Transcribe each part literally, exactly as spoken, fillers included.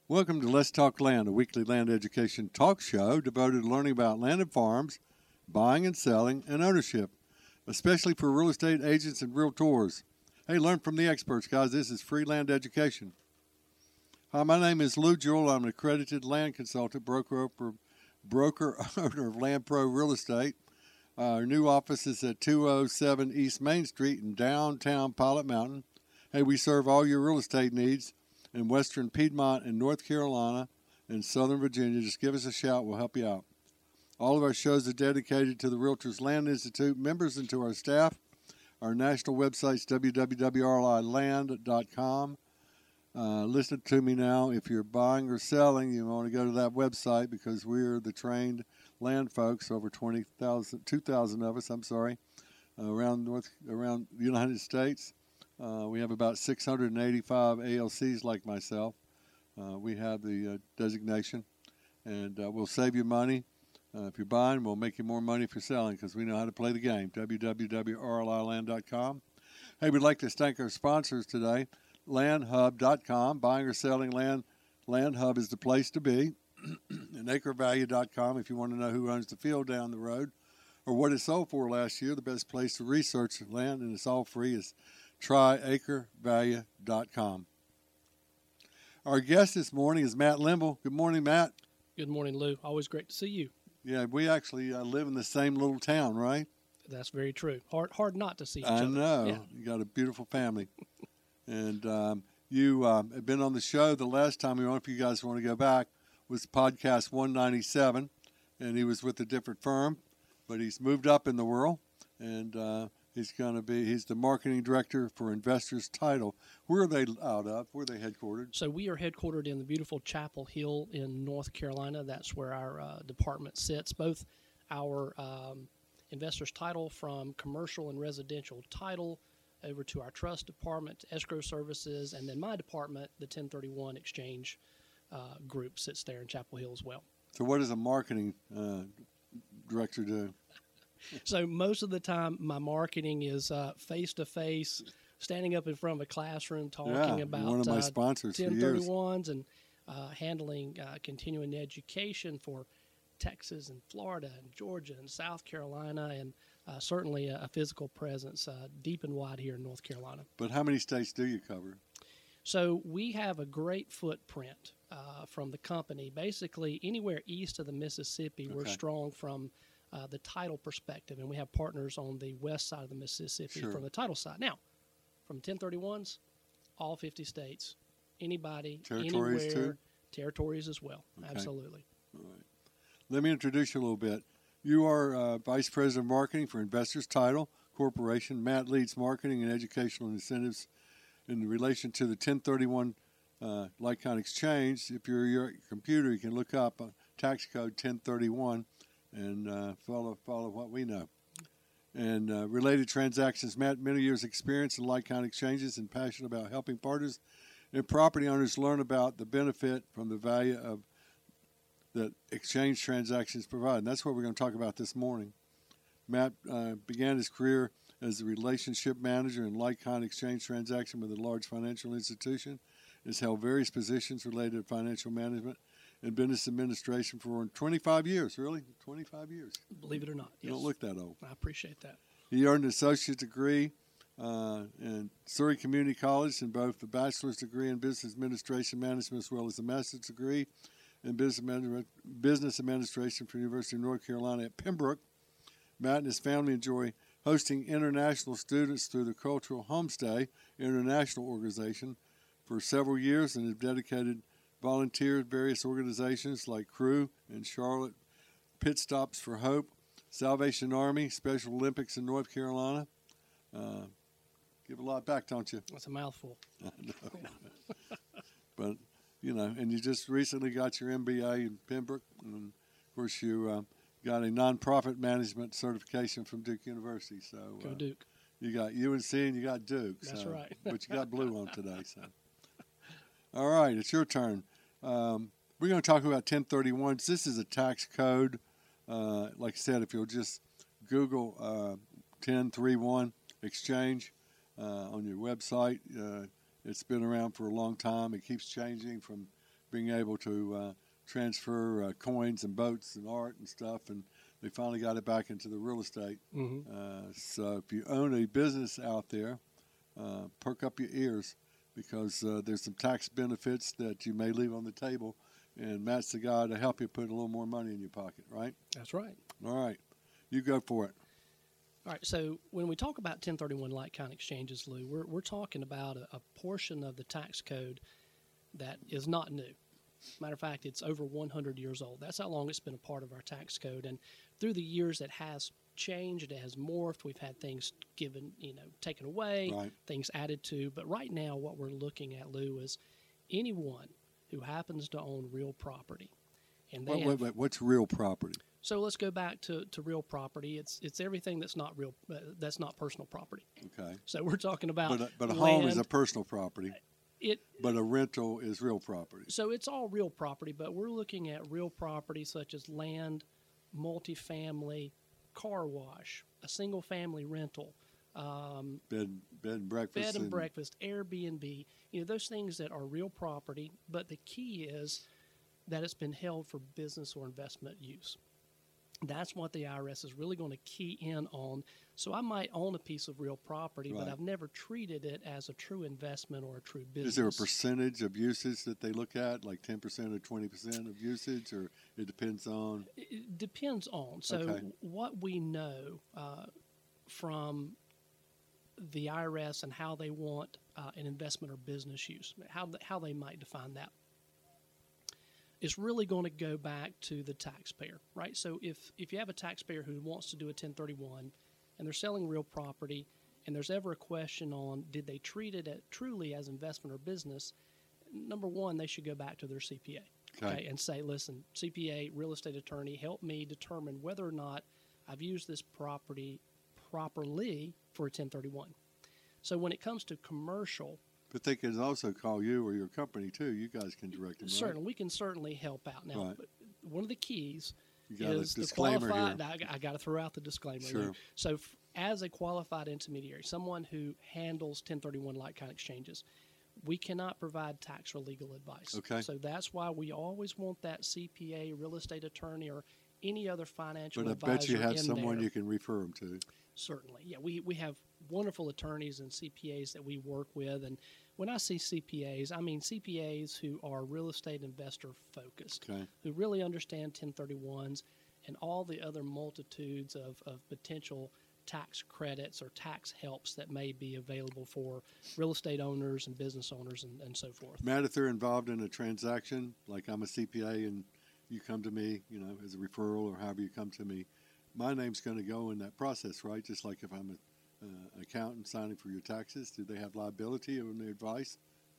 Welcome to Let's Talk Land, a weekly land education talk show devoted to learning about land and farms, buying and selling, and ownership, especially for real estate agents and realtors. Hey, learn from the experts, guys. This is free land education. Hi, my name is Lou Jewell. I'm an accredited land consultant, broker, broker owner of Land Pro Real Estate. Uh, our new office is at two oh seven East Main Street in downtown Pilot Mountain. Hey, we serve all your real estate needs in western Piedmont and North Carolina and southern Virginia. Just give us a shout. We'll help you out. All of our shows are dedicated to the Realtors Land Institute members and to our staff. Our national website's w w w dot r l i land dot com. Uh, listen to me now. If you're buying or selling, you want to go to that website because we're the trained land folks, over twenty thousand, two thousand of us, I'm sorry, uh, around North, around the United States. Uh, we have about six hundred eighty-five A L Cs like myself. Uh, we have the uh, designation, and uh, we'll save you money. Uh, if you're buying, we'll make you more money if you're selling because we know how to play the game. w w w dot r l i land dot com. Hey, we'd like to thank our sponsors today, land hub dot com. Buying or selling land, LandHub is the place to be. And acre value dot com if you want to know who owns the field down the road or what it sold for last year. The best place to research land, and it's all free, is try acre value dot com. Our guest this morning is Matt Limble. Good morning, Matt. Good morning, Lou. Always great to see you. Yeah, we actually uh, live in the same little town, right? That's very true. Hard hard not to see each I other. know. Yeah. You got a beautiful family. and um, you um, have been on the show the last time we went, if you guys want to go back, was podcast one ninety-seven, and he was with a different firm, but he's moved up in the world, and uh, he's going to be, he's the marketing director for Investors Title. Where are they out of? Where are they headquartered? So we are headquartered in the beautiful Chapel Hill in North Carolina. That's where our uh, department sits. Both our um, Investors Title, from commercial and residential title over to our trust department, escrow services, and then my department, the ten thirty-one exchange uh, group, sits there in Chapel Hill as well. So what does a marketing uh, director do? So most of the time, my marketing is uh, face-to-face, standing up in front of a classroom talking yeah, about one of my uh, sponsors for ten years. thirty-ones and uh, handling uh, continuing education for Texas and Florida and Georgia and South Carolina, and uh, certainly a, a physical presence uh, deep and wide here in North Carolina. But how many states do you cover? So we have a great footprint uh, from the company. Basically, anywhere east of the Mississippi, Okay. we're strong from uh, the title perspective, and we have partners on the west side of the Mississippi Sure. from the title side. Now, from ten thirty-ones, all fifty states, anybody, Territories anywhere, too? territories as well. Okay. Absolutely. All right. Let me introduce you a little bit. You are uh, Vice President of Marketing for Investors Title Corporation. Matt leads marketing and educational incentives in relation to the ten thirty-one uh, like-kind exchange. If you're your computer, you can look up uh, tax code ten thirty-one and uh, follow follow what we know. And uh, related transactions. Matt, many years experience in like-kind exchanges and passionate about helping partners and property owners learn about the benefit from the value of that exchange transactions provide. And that's what we're going to talk about this morning. Matt uh, began his career as a relationship manager in like-kind exchange transaction with a large financial institution. Has held various positions related to financial management and business administration for twenty-five years. Really? twenty-five years. Believe it or not. You Yes. don't look that old. I appreciate that. He earned an associate degree uh, in Surrey Community College and both the bachelor's degree in business administration management as well as a master's degree in business management, business administration from the University of North Carolina at Pembroke. Matt and his family enjoy hosting international students through the Cultural Homestay International Organization for several years and have dedicated volunteered various organizations like Crew in Charlotte, Pit Stops for Hope, Salvation Army, Special Olympics in North Carolina. Uh, give a lot back, don't you? That's a mouthful. I know. But, you know, and you just recently got your M B A in Pembroke. And, of course, you uh, got a nonprofit management certification from Duke University. So Go uh, Duke. you got U N C and you got Duke. That's so, right. But you got blue on today. So, all right, it's your turn. Um, we're going to talk about ten thirty-ones. This is a tax code. Uh, like I said, if you'll just Google uh, ten thirty-one exchange uh, on your website, uh, it's been around for a long time. It keeps changing from being able to uh, transfer uh, coins and boats and art and stuff, and they finally got it back into the real estate. Mm-hmm. Uh, so if you own a business out there, uh, perk up your ears, because uh, there's some tax benefits that you may leave on the table, and Matt's the guy to help you put a little more money in your pocket, right? That's right. All right. You go for it. All right, so when we talk about ten thirty-one like-kind exchanges, Lou, we're, we're talking about a, a portion of the tax code that is not new. Matter of fact, it's over one hundred years old. That's how long it's been a part of our tax code. And through the years, it has changed. It has morphed. We've had things given, you know, taken away, Right. things added to. But right now, what we're looking at, Lou, is anyone who happens to own real property. And they Wait, have, wait, wait. What's real property? So let's go back to, to real property. It's it's everything that's not real. Uh, that's not personal property. Okay. So we're talking about. But a, but a land. home is a personal property, It. but a rental is real property. So it's all real property, but we're looking at real property such as land, multifamily, car wash, a single family rental, um, Bed, bed and breakfast. bed and breakfast, Airbnb. You know, those things that are real property. But the key is that it's been held for business or investment use. That's what the I R S is really going to key in on. So I might own a piece of real property, Right. but I've never treated it as a true investment or a true business. Is there a percentage of usage that they look at, like ten percent or twenty percent of usage, or it depends on? It depends on. So Okay. what we know uh, from the I R S and how they want uh, an investment or business use, how th- how they might define that, is really going to go back to the taxpayer, right? So if, if you have a taxpayer who wants to do a ten thirty-one and they're selling real property and there's ever a question on did they treat it at, truly as investment or business, number one, they should go back to their C P A, Okay. okay, and say, listen, C P A, real estate attorney, help me determine whether or not I've used this property properly for a ten thirty-one. So when it comes to commercial, But they can also call you or your company too. You guys can direct them. Right? certainly we can certainly help out. Now, Right. but one of the keys You got is a the disclaimer qualified. here. I, I got to throw out the disclaimer. Sure. here. So, f- as a qualified intermediary, someone who handles ten thirty-one like-kind exchanges, we cannot provide tax or legal advice. Okay. So that's why we always want that C P A, real estate attorney, or any other financial But I advisor bet you have in someone there. you can refer them to. Certainly, yeah. We we have wonderful attorneys and C P As that we work with, and when I see C P As, I mean C P As who are real estate investor focused, Okay. who really understand ten thirty-ones and all the other multitudes of, of potential tax credits or tax helps that may be available for real estate owners and business owners and, and so forth. Matt, if they're involved in a transaction, like I'm a C P A and you come to me, you know, as a referral or however you come to me, my name's going to go in that process, right? Just like if I'm an uh, accountant signing for your taxes, do they have liability on their advice?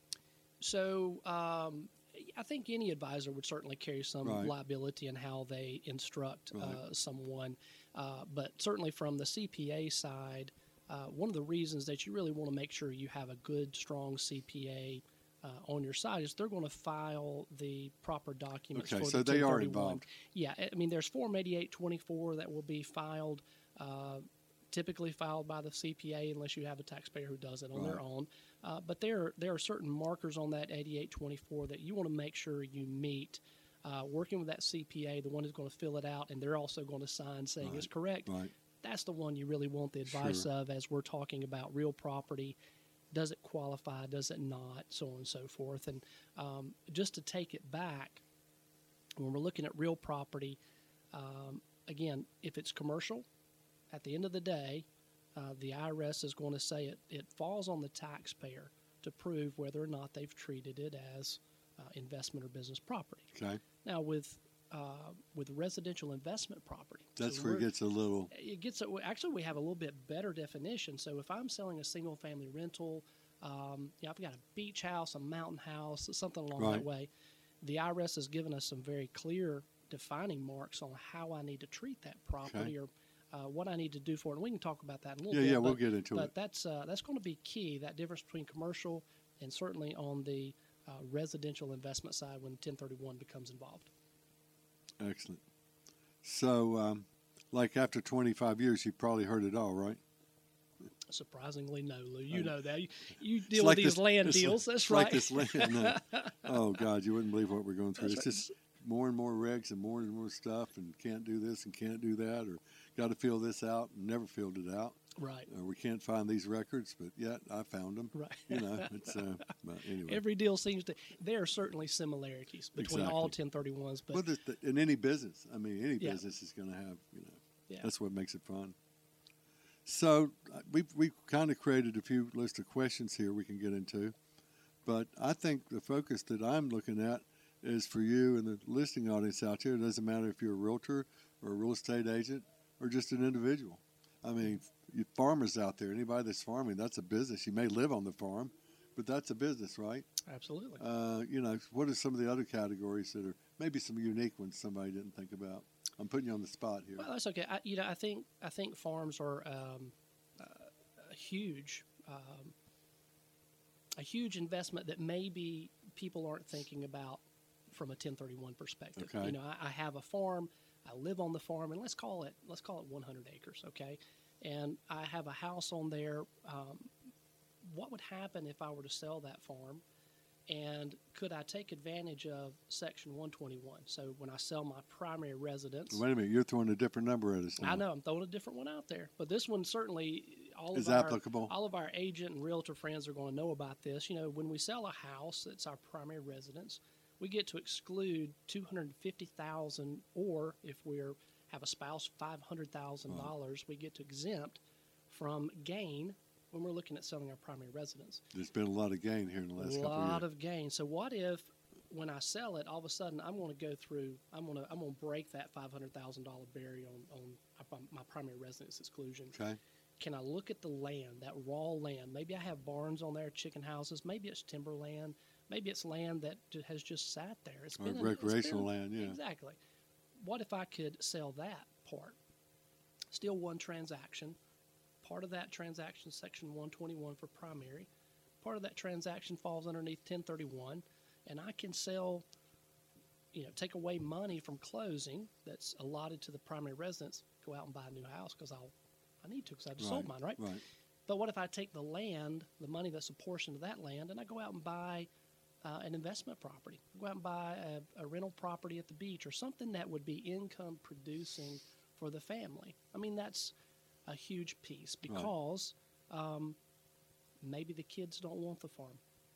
So um, I think any advisor would certainly carry some Right. liability in how they instruct Right. uh, someone. Uh, but certainly from the C P A side, uh, one of the reasons that you really want to make sure you have a good, strong C P A uh, on your side is they're going to file the proper documents Okay, for so the they are ten thirty-one. involved. Yeah, I mean, there's Form eighty-eight twenty-four that will be filed, uh, typically filed by the C P A unless you have a taxpayer who does it on their Right. own. Uh, but there, there are certain markers on that eighty-eight twenty-four that you want to make sure you meet. Uh, working with that C P A, the one who's going to fill it out, and they're also going to sign saying Right. it's correct. Right. That's the one you really want the advice Sure. of as we're talking about real property. Does it qualify? Does it not? So on and so forth. And um, just to take it back, when we're looking at real property, um, again, if it's commercial, at the end of the day, uh, the I R S is going to say it, it falls on the taxpayer to prove whether or not they've treated it as uh, investment or business property. Okay. Now, with uh, with residential investment property, That's so where it we're- gets a little. it gets a, actually we have a little bit better definition. So if I'm selling a single family rental, um, yeah, I've got a beach house, a mountain house, something along Right. that way. The I R S has given us some very clear defining marks on how I need to treat that property or uh, what I need to do for it. And we can talk about that in a little Yeah, bit. yeah, we'll but, get into but it. that's uh, that's going to be key. That difference between commercial and certainly on the uh, residential investment side when ten thirty-one becomes involved. Excellent. So, um, like after twenty-five years, you probably heard it all, right? Surprisingly, no, Lou. You know that. You, you It's deal like with these this- land it's deals. like- That's it's right. Like this land. No. Oh God, you wouldn't believe what we're going through. That's It's right. just more and more regs and more and more stuff, and can't do this and can't do that, or got to fill this out and never filled it out. Right. Or we can't find these records, but yet I found them. Right. You know, it's uh, but anyway. Every deal seems to. There are certainly similarities between Exactly. all ten thirty-ones, but well, the, the, in any business, I mean, any Yeah. business is going to have, you know, yeah. that's what makes it fun. So uh, we've we kind of created a few list of questions here we can get into, but I think the focus that I'm looking at is for you and the listening audience out there. It doesn't matter if you're a realtor or a real estate agent or just an individual. I mean, you farmers out there, anybody that's farming, that's a business. You may live on the farm, but that's a business, right? Absolutely. Uh, you know, what are some of the other categories that are maybe some unique ones somebody didn't think about? I'm putting you on the spot here. Well, that's okay. I, you know, I think I think farms are um, uh, a huge, um, a huge investment that maybe people aren't thinking about from a ten thirty-one perspective. Okay. You know, I, I have a farm. I live on the farm, and let's call it let's call it one hundred acres, okay? And I have a house on there. Um, what would happen if I were to sell that farm? And could I take advantage of Section one twenty-one? So when I sell my primary residence, Wait a minute, you're throwing a different number at us now. I know I'm throwing a different one out there, but this one certainly all Is of our applicable. all of our agent and realtor friends are going to know about this. You know, when we sell a house that's our primary residence, we get to exclude two hundred fifty thousand dollars, or if we're have a spouse, five hundred thousand dollars. We get to exempt from gain when we're looking at selling our primary residence. There's been a lot of gain here in the last A couple of lot years. of gain. So what if when I sell it, all of a sudden I'm going to go through, I'm going to I'm going to break that five hundred thousand dollars barrier on on my primary residence exclusion. Okay. Can I look at the land, that raw land? Maybe I have barns on there, chicken houses. Maybe it's timberland. Maybe it's land that ju- has just sat there. It's Or been in- it's recreational been- land, yeah. Exactly. What if I could sell that part? Still one transaction. Part of that transaction, Section one twenty-one for primary. Part of that transaction falls underneath ten thirty-one, and I can sell, you know, take away money from closing that's allotted to the primary residence, go out and buy a new house because I'll, I need to because I just sold mine, right? Right. But what if I take the land, the money that's a portion of that land, and I go out and buy uh, an investment property? Go out and buy a, a rental property at the beach or something that would be income producing for the family. I mean, that's a huge piece because um, maybe the kids don't want the farm.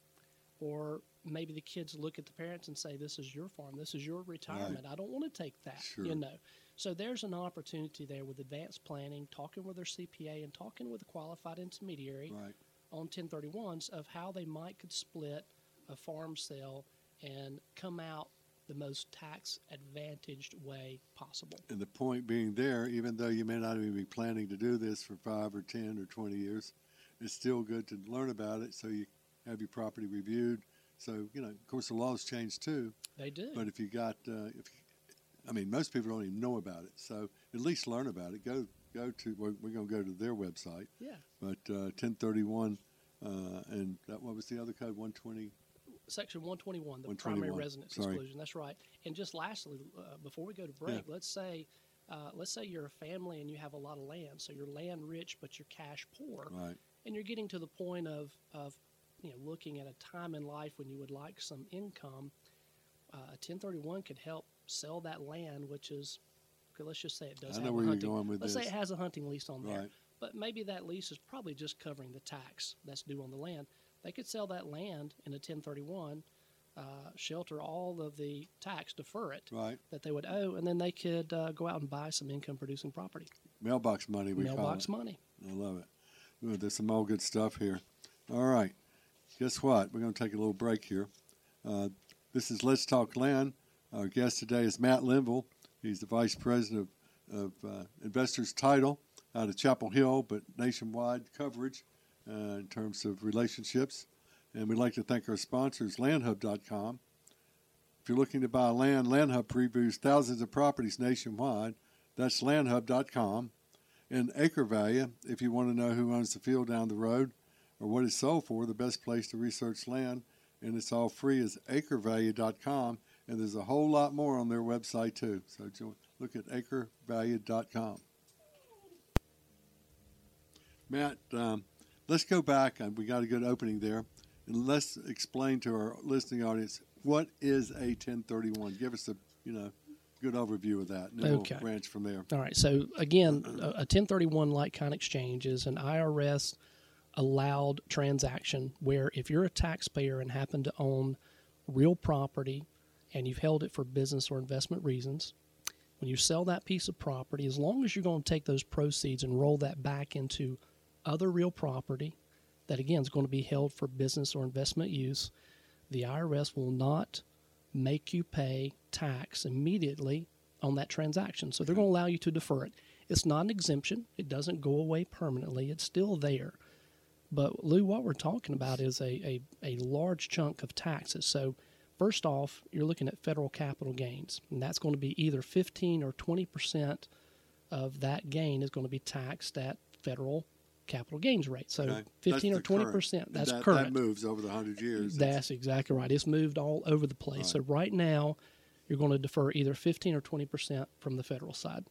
Or maybe the kids look at the parents and say, this is your farm, this is your retirement. I don't want to take that, Sure. you know. So there's an opportunity there with advanced planning, talking with their C P A and talking with a qualified intermediary Right. on ten thirty-ones of how they might could split a farm sale and come out the most tax advantaged way possible. And the point being there, even though you may not even be planning to do this for five or ten or twenty years, it's still good to learn about it so you have your property reviewed. So, you know, of course, the laws change too. They do. But if you got, uh, if I mean, most people don't even know about it. So at least learn about it. Go go to, we're, we're going to go to their website. Yeah. But uh, ten thirty-one, uh, and that, what was the other code, one twenty? Section one twenty-one, the one primary twenty-one, residence sorry. exclusion. That's right. And just lastly, uh, before we go to break, Yeah. let's say uh, let's say you're a family and you have a lot of land. So you're land rich, but you're cash poor. Right. And you're getting to the point of, of you know, looking at a time in life when you would like some income. Uh, a ten thirty-one could help sell that land, which is, okay, let's just say it does I have know a where you're hunting. going with let's this. say it has a hunting lease on there. Right. But maybe that lease is probably just covering the tax that's due on the land. They could sell that land in a ten thirty-one, uh, shelter all of the tax, defer it Right. that they would owe, and then they could uh, go out and buy some income-producing property. Mailbox money, we call Mailbox it. money. I love it. Ooh, there's some all good stuff here. All right. Guess what? We're going to take a little break here. Uh, this is Let's Talk Land. Our guest today is Matt Linville. He's the Vice President of, of uh, Investors Title out of Chapel Hill, but nationwide coverage uh, in terms of relationships. And we'd like to thank our sponsors, land hub dot com. If you're looking to buy land, LandHub previews thousands of properties nationwide. That's land hub dot com. And Acre Value, if you want to know who owns the field down the road or what it's sold for, the best place to research land, and it's all free, is acre value dot com. And there's a whole lot more on their website, too. So jo- look at acre value dot com. Matt, um, let's go back. And we got a good opening there. And let's explain to our listening audience, what is a ten thirty-one? Give us a, you know, good overview of that, and then Okay. we'll branch from there. All right. So again, a, a ten thirty-one like-kind exchange is an I R S allowed transaction where if you're a taxpayer and happen to own real property and you've held it for business or investment reasons, when you sell that piece of property, as long as you're going to take those proceeds and roll that back into other real property that, again, is going to be held for business or investment use, the I R S will not make you pay tax immediately on that transaction. So they're going to allow you to defer it. It's not an exemption. It doesn't go away permanently. It's still there. But, Lou, what we're talking about is a, a, a large chunk of taxes. So, first off, you're looking at federal capital gains, and that's going to be either fifteen or twenty percent of that gain is going to be taxed at federal capital gains rate. So, Okay. fifteen That's or twenty the percent. current. That's that, current. That moves over the hundred years. That's exactly right. It's moved all over the place. Right. So, right now, you're going to defer either fifteen or twenty percent from the federal side.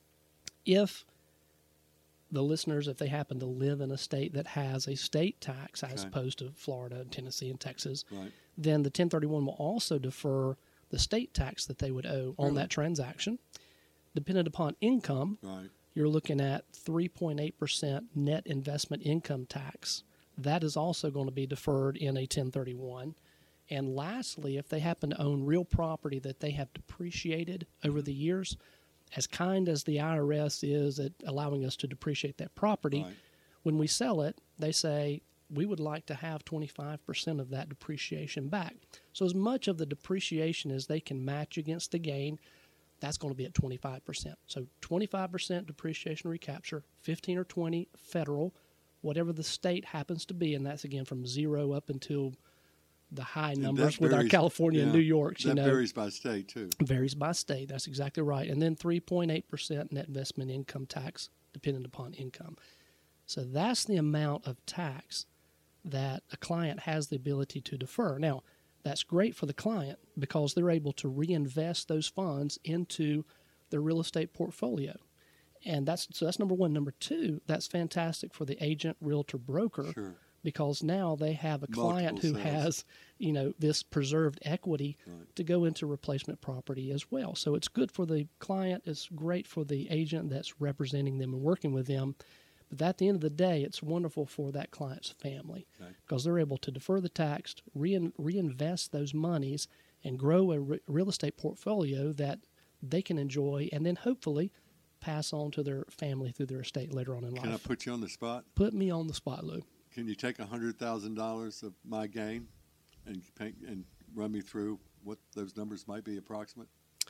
If the listeners, if they happen to live in a state that has a state tax as Okay. opposed to Florida and Tennessee and Texas, Right. then the ten thirty-one will also defer the state tax that they would owe on Really? that transaction. Dependent upon income, Right. you're looking at three point eight percent net investment income tax. That is also going to be deferred in a ten thirty-one. And lastly, if they happen to own real property that they have depreciated over the years, as kind as the I R S is at allowing us to depreciate that property, Right. when we sell it, they say, we would like to have twenty-five percent of that depreciation back. So as much of the depreciation as they can match against the gain, that's going to be at twenty-five percent. So twenty-five percent depreciation recapture, fifteen or twenty federal, whatever the state happens to be, and that's again from zero up until the high And numbers that with our varies- California and yeah, New Yorks. That You know, varies by state too. varies by state. That's exactly right. And then three point eight percent net investment income tax, dependent upon income. So that's the amount of tax that a client has the ability to defer. Now, that's great for the client because they're able to reinvest those funds into their real estate portfolio. And that's so that's number one. Number two, that's fantastic for the agent, realtor, broker, Sure. because now they have a client Multiple who sales. has, you know, this preserved equity Right. to go into replacement property as well. So it's good for the client. It's great for the agent that's representing them and working with them. But at the end of the day, it's wonderful for that client's family Okay. because they're able to defer the tax, rein, reinvest those monies, and grow a re- real estate portfolio that they can enjoy and then hopefully pass on to their family through their estate later on in Can I life. put you on the spot? Put me on the spot, Lou. Can you take a hundred thousand dollars of my gain and paint, and run me through what those numbers might be approximate?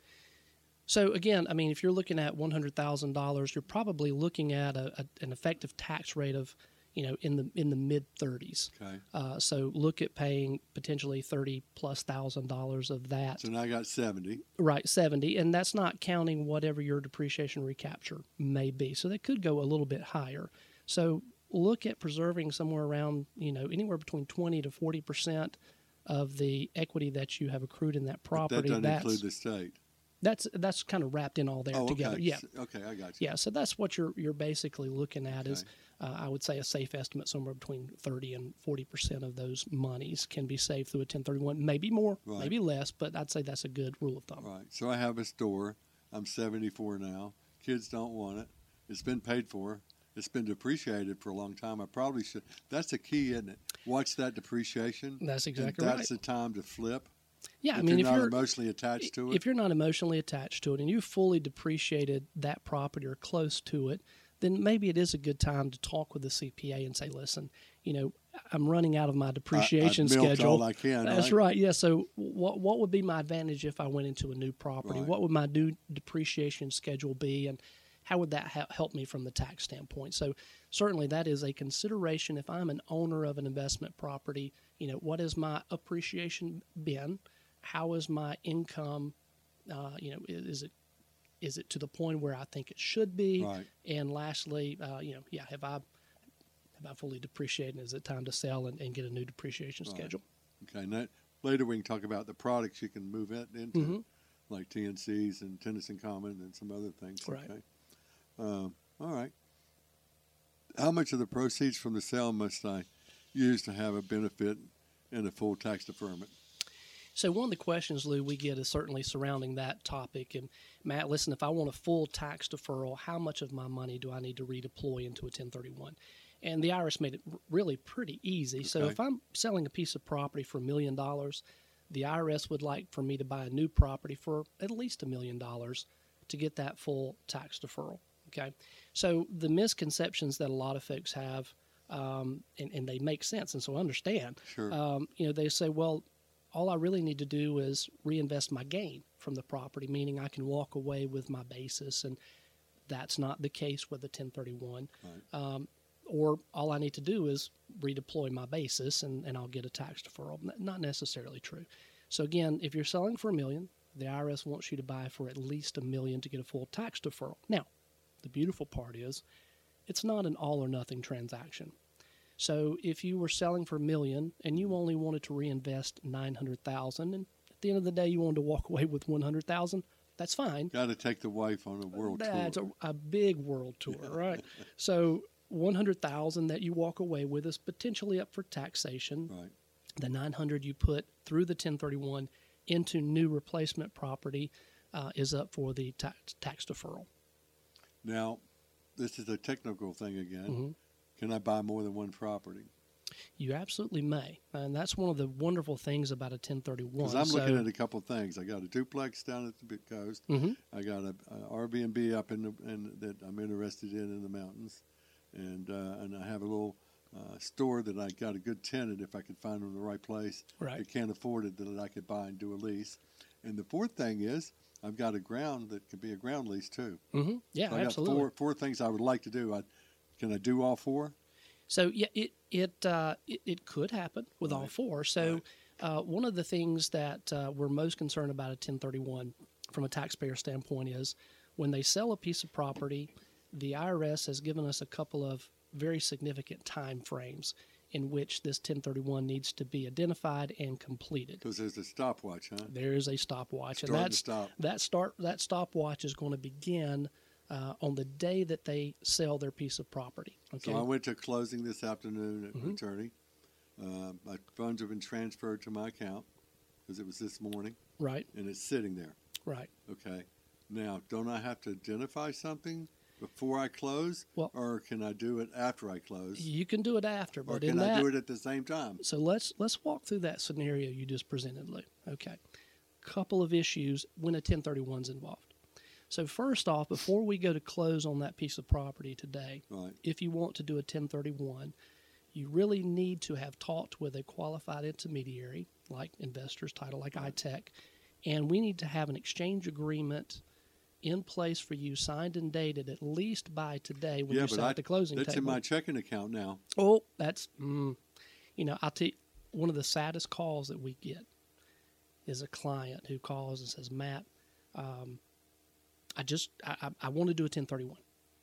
So again, I mean, if you're looking at one hundred thousand dollars, you're probably looking at a, a, an effective tax rate of, you know, in the in the mid thirties. Okay. Uh, so look at paying potentially thirty plus thousand dollars of that. So now I got seventy. Right, seventy, and that's not counting whatever your depreciation recapture may be. So they could go a little bit higher. So look at preserving somewhere around, you know, anywhere between twenty to forty percent of the equity that you have accrued in that But property. that doesn't that's include the state. that's that's kind of wrapped in all there Oh, together. okay. Yeah. S- Okay, I got you. Yeah, so that's what you're you're basically looking at is, Okay. uh, I would say a safe estimate somewhere between thirty and forty percent of those monies can be saved through a ten thirty-one. Maybe more, Right. maybe less, but I'd say that's a good rule of thumb. Right. So I have a store. I'm seventy-four now. Kids don't want it. It's been paid for. It's been depreciated for a long time. I probably should. That's the key, isn't it? Watch that depreciation. That's and exactly that's right. the time to flip. Yeah, if I mean, you're if not you're emotionally attached to it. if you're not emotionally attached to it and you fully depreciated that property or close to it, then maybe it is a good time to talk with the C P A and say, listen, you know, I'm running out of my depreciation I, I've milked schedule. all I can. That's right. right. Yeah. So what what would be my advantage if I went into a new property? Right. What would my new depreciation schedule be, and how would that ha- help me from the tax standpoint? So certainly that is a consideration. If I'm an owner of an investment property, you know, what has my appreciation been? How is my income? Uh, you know, is, is it is it to the point where I think it should be? Right. And lastly, uh, you know, yeah, have I have I fully depreciated? Is it time to sell and, and get a new depreciation Right. schedule? Okay. And that, later we can talk about the products you can move it into, Mhm. like T N Cs and Tennyson Common and some other things. Right. Okay. Um, all right. How much of the proceeds from the sale must I use to have a benefit and a full tax deferment? So one of the questions, Lou, we get is certainly surrounding that topic. And Matt, listen, if I want a full tax deferral, how much of my money do I need to redeploy into a ten thirty-one? And the I R S made it r- really pretty easy. So Okay. if I'm selling a piece of property for a million dollars, the I R S would like for me to buy a new property for at least a million dollars to get that full tax deferral. Okay. So the misconceptions that a lot of folks have, um, and, and they make sense, and so I understand. Sure. Um, you know, they say, well, all I really need to do is reinvest my gain from the property, meaning I can walk away with my basis, and that's not the case with the ten thirty-one. Right. Um, or all I need to do is redeploy my basis, and, and I'll get a tax deferral. N- Not necessarily true. So again, if you're selling for a million, the I R S wants you to buy for at least a million to get a full tax deferral. Now, the beautiful part is it's not an all or nothing transaction. So if you were selling for a million and you only wanted to reinvest nine hundred thousand, and at the end of the day you wanted to walk away with one hundred thousand, that's fine. Got to take the wife on a world That's tour. a, a big world tour, right? So one hundred thousand that you walk away with is potentially up for taxation. Right. The nine hundred you put through the ten thirty-one into new replacement property uh, is up for the tax, tax deferral. Now, this is a technical thing again. Mhm. Can I buy more than one property? You absolutely may, and that's one of the wonderful things about a ten thirty-one. Because I'm So- looking at a couple of things. I got a duplex down at the big coast. Mhm. I got a, a Airbnb up in the in, that I'm interested in in the mountains, and uh, and I have a little uh, store that I got a good tenant if I could find them in the right place. Right. That can't afford it that I could buy and do a lease. And the fourth thing is I've got a ground that could be a ground lease too. Mhm. Yeah, So I got absolutely. four four things I would like to do. I, can I do all four? So yeah, it it uh, it, it could happen with all Right. four. So Right. uh, one of the things that uh, we're most concerned about a ten thirty-one from a taxpayer standpoint is when they sell a piece of property, the I R S has given us a couple of very significant time frames in which this ten thirty-one needs to be identified and completed. Because there's a stopwatch, huh? There is a stopwatch, and Start and that's stop. that start that stopwatch is going to begin uh, on the day that they sell their piece of property. Okay. So I went to closing this afternoon at Mhm. attorney. Uh, my funds have been transferred to my account because it was this morning, Right. and it's sitting there. Right. Okay. Now, don't I have to identify something before I close, Well- or can I do it after I close, You can do it after, or but can in I that, do it at the same time? so let's let's walk through that scenario you just presented, Lou. Okay, couple of issues when a ten thirty-one is involved. So first off, before we go to close on that piece of property today, Right. if you want to do a ten thirty-one, you really need to have talked with a qualified intermediary like Investors Title, like I T E C, and we need to have an exchange agreement in place for you, signed and dated at least by today when Yeah, you but sit I- at the closing That's table. in my checking account now. Oh, that's, mm, you know, I'll tell you, one of the saddest calls that we get is a client who calls and says, Matt, um, I just, I, I, I want to do a ten thirty-one.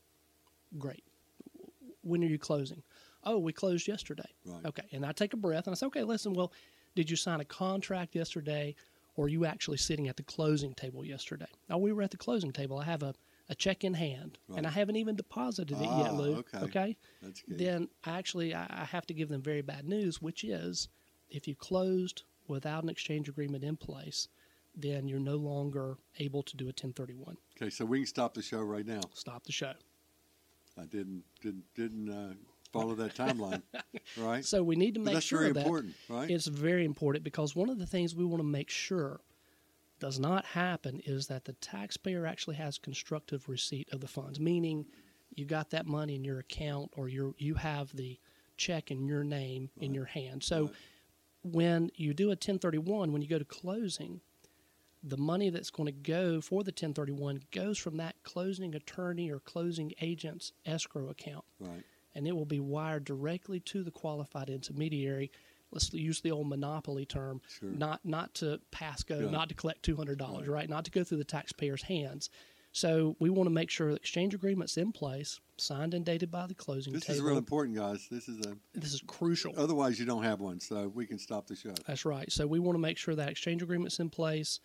Great. When are you closing? Oh, we closed yesterday. Right. Okay. And I take a breath and I say, okay, listen, well, did you sign a contract yesterday, or are you actually sitting at the closing table yesterday? Oh, we were at the closing table. I have a, a check in hand, Right. and I haven't even deposited it Ah, yet, Lou. okay. Okay. That's good. Then actually I I have to give them very bad news, which is if you closed without an exchange agreement in place, then you're no longer able to do a ten thirty-one. Okay, so we can stop the show right now. Stop the show. I didn't didn't didn't uh, follow that timeline, right? So we need to But make that's sure very that important, right? it's very important, because one of the things we want to make sure does not happen is that the taxpayer actually has constructive receipt of the funds, meaning you got that money in your account, or you you have the check in your name in Right. your hand. So Right. when you do a ten thirty-one, when you go to closing, the money that's going to go for the ten thirty-one goes from that closing attorney or closing agent's escrow account, Right. and it will be wired directly to the qualified intermediary. Let's use the old monopoly term, Sure. not not to Pasco, Yeah. not to collect two hundred dollars, Right. right? Not to go through the taxpayer's hands. So we want to make sure the exchange agreement's in place, signed and dated by the closing This table. is real important, guys. This is a. This is crucial. Otherwise, you don't have one, so we can stop the show. That's right. So we want to make sure that exchange agreement's in place.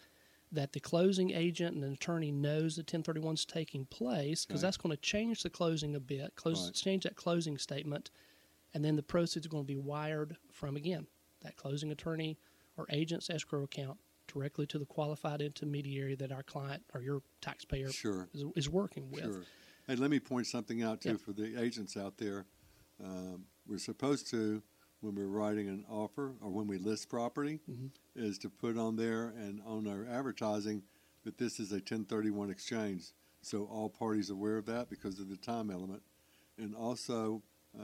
that the closing agent and an attorney knows the ten thirty-one is taking place, because Okay. that's going to change the closing a bit, close, Right. change that closing statement, and then the proceeds are going to be wired from, again, that closing attorney or agent's escrow account directly to the qualified intermediary that our client or your taxpayer Sure. is, is working with. Sure. Hey, let me point something out, too, Yeah. for the agents out there. Um, we're supposed to, when we're writing an offer or when we list property, Mhm. is to put on there and on our advertising that this is a ten thirty-one exchange. So all parties are aware of that because of the time element. And also, uh,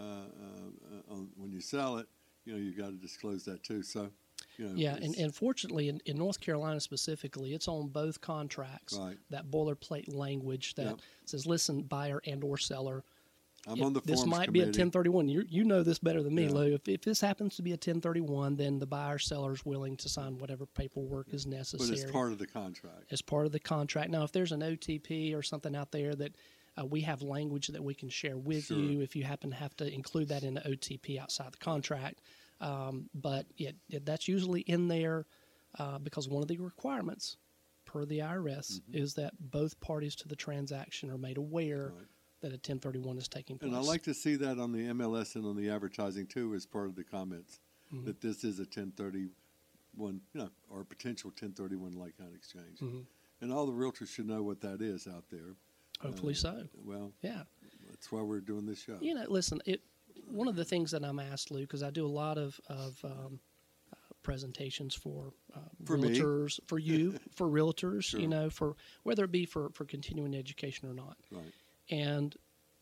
uh, on, when you sell it, you know, you got to disclose that, too. So, you know. Yeah, and, it's- and fortunately, in, in North Carolina specifically, it's on both contracts, Right. that boilerplate language that Yep. says, listen, buyer and or seller, I'm if on the this forms might committee. be a ten thirty-one. You you know this better than me, Yeah. Lou. If, if this happens to be a ten thirty-one, then the buyer seller is willing to sign whatever paperwork is But necessary it's part of the contract. as part of the contract. Now, if there's an O T P or something out there that uh, we have language that we can share with Sure. you, if you happen to have to include that in the O T P outside the contract. Um, but it, it, that's usually in there uh, because one of the requirements per the I R S Mhm. is that both parties to the transaction are made aware Right. that a ten thirty-one is taking place. And I like to see that on the M L S and on the advertising too, as part of the comments, Mhm. that this is a ten thirty-one, you know, or a potential ten thirty-one like kind exchange. Mhm. And all the realtors should know what that is out there. Hopefully Uh, so. Well, Yeah. that's why we're doing this show. You know, listen, it. One of the things that I'm asked, Lou, because I do a lot of of um, uh, presentations for uh, For me. realtors, for you, for realtors. Sure. You know, for whether it be for for continuing education or not. Right. And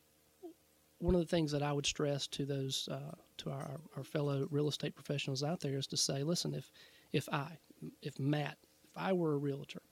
one of the things that I would stress to those uh, to our, our fellow real estate professionals out there is to say, listen, if if I, if Matt, if I were a realtor,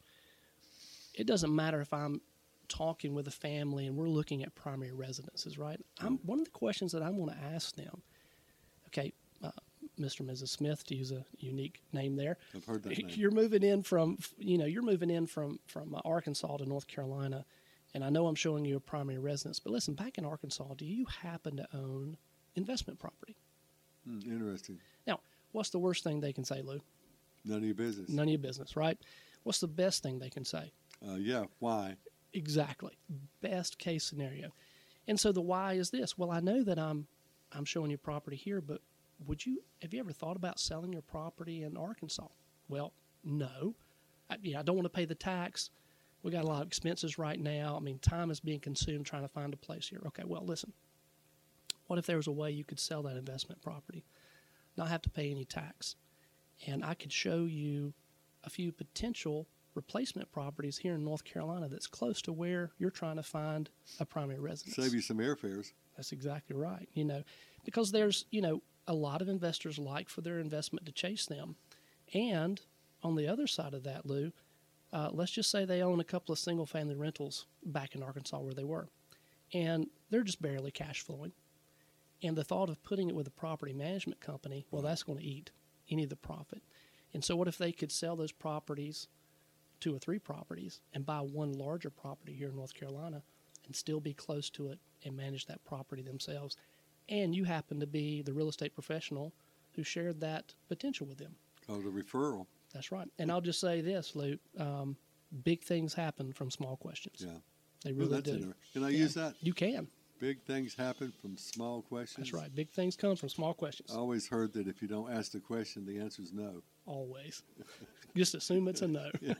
it doesn't matter if I'm talking with a family and we're looking at primary residences, right? I'm one of the questions that I want to ask them. Okay, uh, Mister and Missus Smith, to use a unique name there. I've heard that name. You're moving in from, you know, you're moving in from from uh, Arkansas to North Carolina, and I know I'm showing you a primary residence. But listen, back in Arkansas, do you happen to own investment property? Hmm, interesting. Now, what's the worst thing they can say, Lou? None of your business. None of your business, right? What's the best thing they can say? Uh, yeah. Why? Exactly. Best case scenario. And so the why is this. Well, I know that I'm I'm showing you property here, but would you have you ever thought about selling your property in Arkansas? Well, no. I, yeah, I don't want to pay the tax. We got a lot of expenses right now. I mean, time is being consumed trying to find a place here. Okay, well, listen. What if there was a way you could sell that investment property, not have to pay any tax, and I could show you a few potential replacement properties here in North Carolina that's close to where you're trying to find a primary residence. Save you some airfares. That's exactly right. You know, because there's, you know, a lot of investors like for their investment to chase them. And on the other side of that, Lou, uh, let's just say they own a couple of single family rentals back in Arkansas where they were, and they're just barely cash flowing. And the thought of putting it with a property management company, well, that's going to eat any of the profit. And so what if they could sell those properties, two or three properties, and buy one larger property here in North Carolina and still be close to it and manage that property themselves? And you happen to be the real estate professional who shared that potential with them. Called a referral. That's right. And I'll just say this, Lou, um, big things happen from small questions. Yeah. They Well, really that's do. inter- Can I Yeah. use that? You can. Big things happen from small questions. That's right. Big things come from small questions. I always heard that if you don't ask the question, the answer is no. Always. Just assume it's a no. Yeah.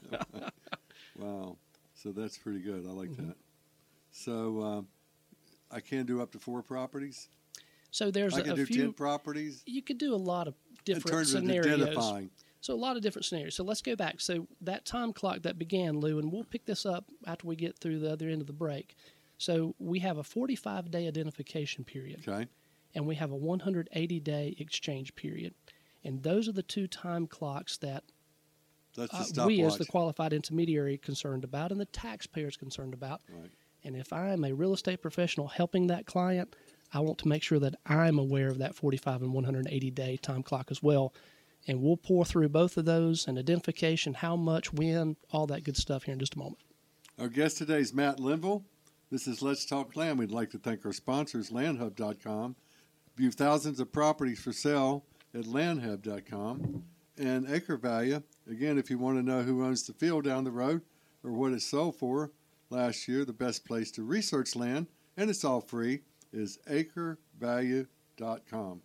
Wow. So that's pretty good. I like Mhm. that. So um, I can do up to four properties. So there's I a, can a do few. ten properties. You could do a lot of In different terms of scenarios. identifying. So a lot of different scenarios. So let's go back. So that time clock that began, Lou, and we'll pick this up after we get through the other end of the break. So we have a forty-five day identification period, Okay. and we have a one hundred eighty day exchange period. And those are the two time clocks that That's the uh, stopwatch. we as the qualified intermediary concerned about and the taxpayers concerned about. Right. And if I am a real estate professional helping that client, I want to make sure that I'm aware of that forty-five and one hundred eighty day time clock as well. And we'll pour through both of those and identification, how much, when, all that good stuff here in just a moment. Our guest today is Matt Linville. This is Let's Talk Land. We'd like to thank our sponsors, land hub dot com. View thousands of properties for sale at land hub dot com. and acre value. Again, if you want to know who owns the field down the road or what it sold for last year, the best place to research land, and it's all free, is acre value dot com.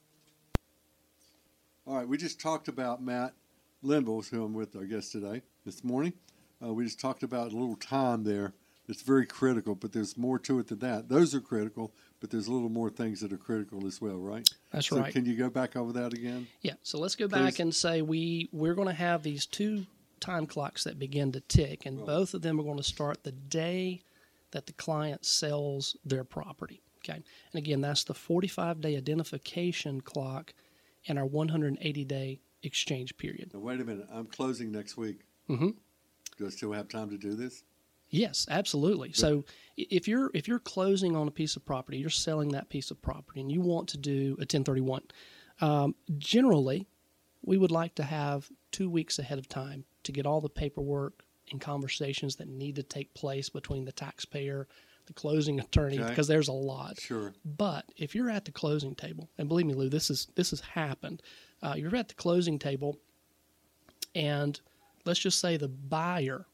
All right, we just talked about Matt Linville, who I'm with, our guest today, this morning. Uh, we just talked about a little time there. It's very critical, but there's more to it than that. Those are critical, but there's a little more things that are critical as well, right? That's so right. Can you go back over that again? Yeah. So let's go Please. back and say we, we're going to have these two time clocks that begin to tick, and Right. both of them are going to start the day that the client sells their property. Okay. And again, that's the forty-five day identification clock and our one hundred eighty day exchange period. Now, wait a minute. I'm closing next week. Mm-hmm. Do I still have time to do this? Yes, absolutely. So i- if you're if you're closing on a piece of property, you're selling that piece of property, and you want to do a ten thirty-one, um, generally, we would like to have two weeks ahead of time to get all the paperwork and conversations that need to take place between the taxpayer, the closing attorney, Okay. because there's a lot. Sure. But if you're at the closing table, and believe me, Lou, this is this has happened. Uh, you're at the closing table, and let's just say the buyer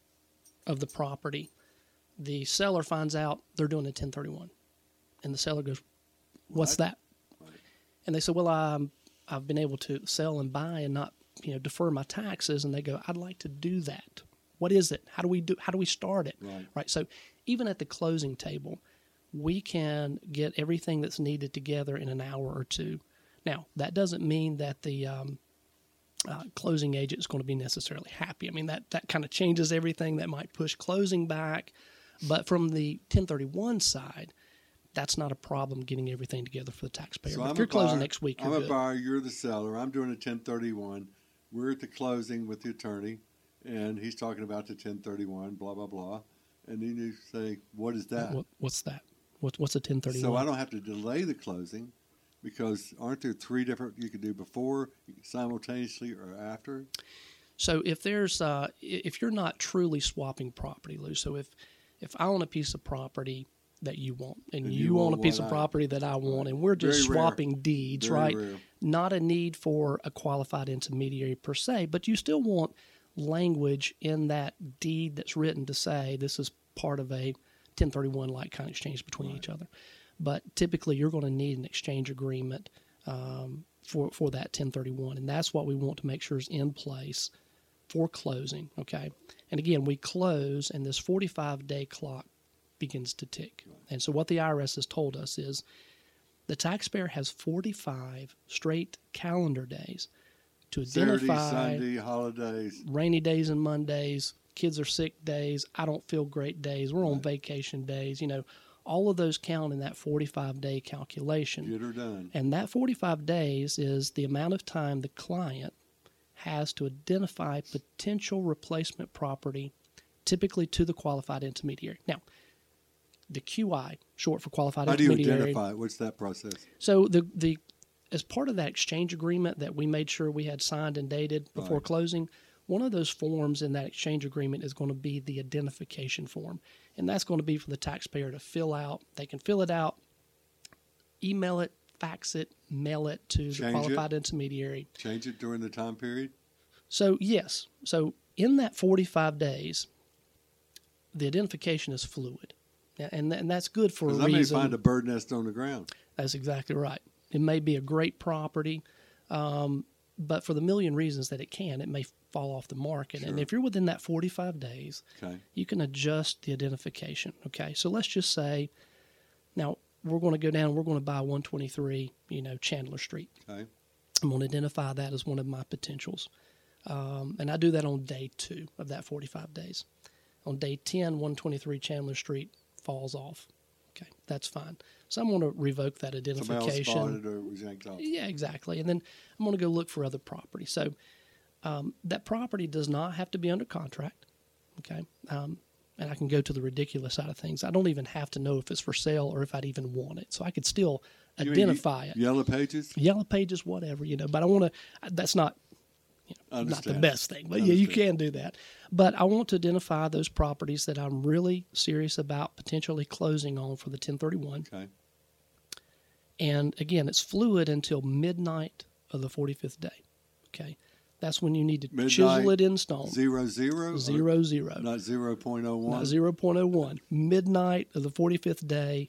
of the property, the seller finds out they're doing a ten thirty-one, and the seller goes, "What's What? that?" Right. And they say, "Well, I'm I've been able to sell and buy and not you know defer my taxes." And they go, "I'd like to do that. What is it? How do we do? How do we start it?" Right. Right. So even at the closing table, we can get everything that's needed together in an hour or two. Now, that doesn't mean that the um, uh, closing agent is going to be necessarily happy. I mean, that, that kind of changes everything. That might push closing back. But from the ten thirty-one side, that's not a problem getting everything together for the taxpayer. So But I'm if you're a closing buyer, next week, you're I'm a good. buyer. You're the seller. I'm doing a ten thirty-one. We're at the closing with the attorney, and he's talking about the ten thirty-one, blah, blah, blah. And then you say, what is that? What, what's that? What, what's a ten thirty-one? So I don't have to delay the closing because aren't there three different you can do before, simultaneously, or after? So if there's uh, if you're not truly swapping property, Lou, so if if I own a piece of property that you want, and, And you, you own want a piece what of I- property that I want, and we're just Very rare. swapping deeds, Very right? rare. Not a need for a qualified intermediary per se, but you still want language in that deed that's written to say this is part of a ten thirty-one like kind of exchange between Right. each other. But typically, you're going to need an exchange agreement um, for for that ten thirty-one, and that's what we want to make sure is in place for closing. Okay, and again, we close, and this forty-five day clock begins to tick. And so, what the I R S has told us is the taxpayer has forty-five straight calendar days to Saturday, identify Sunday, holidays. rainy days and Mondays, kids are sick days, I don't feel great days, we're on Right. vacation days, you know, all of those count in that forty-five day calculation. Get her done. And that forty-five days is the amount of time the client has to identify potential replacement property, typically to the qualified intermediary. Now, the Q I, short for qualified How do you intermediary. identify it? What's that process? So the the as part of that exchange agreement that we made sure we had signed and dated before Right. closing, one of those forms in that exchange agreement is going to be the identification form. And that's going to be for the taxpayer to fill out. They can fill it out, email it, fax it, mail it to the Change it? qualified intermediary. Change it during the time period? So, yes. So, in that forty-five days, the identification is fluid. And, and that's good for a Because I may reason. find a bird nest on the ground. That's exactly right. It may be a great property, um, but for the million reasons that it can, it may fall off the market. And Sure. if you're within that forty-five days, Okay. you can adjust the identification. Okay, so let's just say, now we're going to go down. We're going to buy one twenty-three, you know, Chandler Street. Okay. I'm going to identify that as one of my potentials, um, and I do that on day two of that forty-five days. On day ten, one twenty-three Chandler Street falls off. Okay, that's fine. So I'm going to revoke that Somebody else identification. spotted or it was yanked off. Yeah, exactly. And then I'm going to go look for other property. So um, that property does not have to be under contract. Okay. Um, and I can go to the ridiculous side of things. I don't even have to know if it's for sale or if I'd even want it. So I could still You mean identify it. Yellow pages? Yellow pages, whatever, you know. But I want to, that's not you know, not the Understand. best thing. But yeah, you Understand. can do that. But I want to identify those properties that I'm really serious about potentially closing on for the ten thirty-one. Okay. And again, it's fluid until midnight of the forty-fifth day. Okay. That's when you need to Midnight, chisel it in stone. Zero, zero? Zero, zero. Not zero point oh one? Not zero point oh one. Midnight of the forty-fifth day,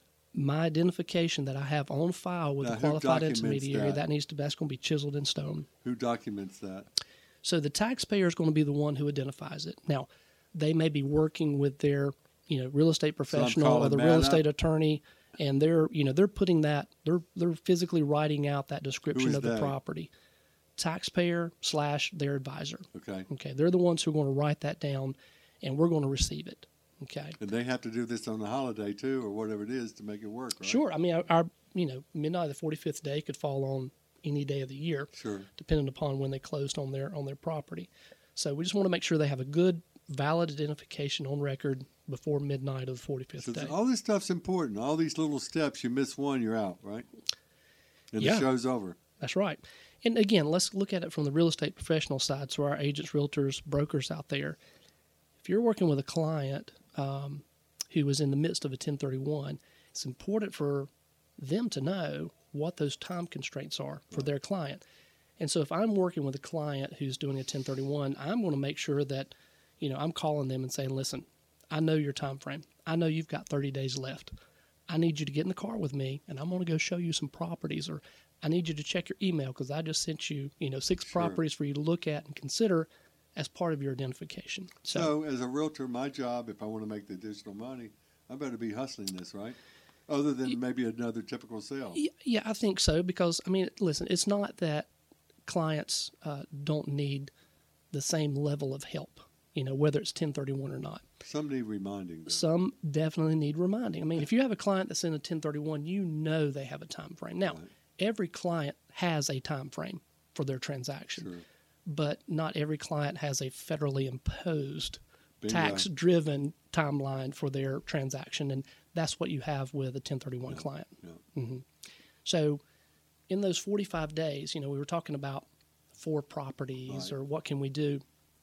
my identification that I have on file with Now, the who qualified documents intermediary, that? that needs to, that's going to be chiseled in stone. Who documents that? So the taxpayer is going to be the one who identifies it. Now, they may be working with their, you know, real estate professional or calling the Matt real up. estate attorney, and they're, you know, they're putting that, they're they're physically writing out that description is of the they? property. Taxpayer slash their advisor. Okay. Okay, they're the ones who are going to write that down, and we're going to receive it. Okay. And they have to do this on the holiday too, or whatever it is, to make it work, right? Sure. I mean, our, our you know midnight of the forty-fifth day could fall on any day of the year, Sure. depending upon when they closed on their on their property. So we just want to make sure they have a good, valid identification on record before midnight of the forty-fifth So day. all this stuff's important. All these little steps, you miss one, you're out, right? And Yeah. the show's over. That's right. And again, let's look at it from the real estate professional side. So our agents, realtors, brokers out there, if you're working with a client um, who is in the midst of a ten thirty-one, it's important for them to know what those time constraints are for their client. And so if I'm working with a client who's doing a ten thirty-one, I'm going to make sure that, you know, I'm calling them and saying, listen, I know your time frame. I know you've got thirty days left. I need you to get in the car with me, and I'm going to go show you some properties, or I need you to check your email because I just sent you, you know, six Sure. properties for you to look at and consider as part of your identification. So, So, as a realtor, my job, if I want to make the additional money, I better be hustling this, right? Other than maybe another typical sale. y- yeah, I think so because, I mean, listen, it's not that clients uh, don't need the same level of help, you know, whether it's ten thirty-one or not. Some need reminding. Though. Some definitely need reminding. I mean, if you have a client that's in a ten thirty-one, you know they have a time frame. Now, Right. every client has a time frame for their transaction, Sure. but not every client has a federally imposed Bingo. tax-driven timeline for their transaction, and that's what you have with a ten thirty-one Yeah. client. Yeah. hmm So, in those forty-five days, you know, we were talking about four properties Right. or what can we do.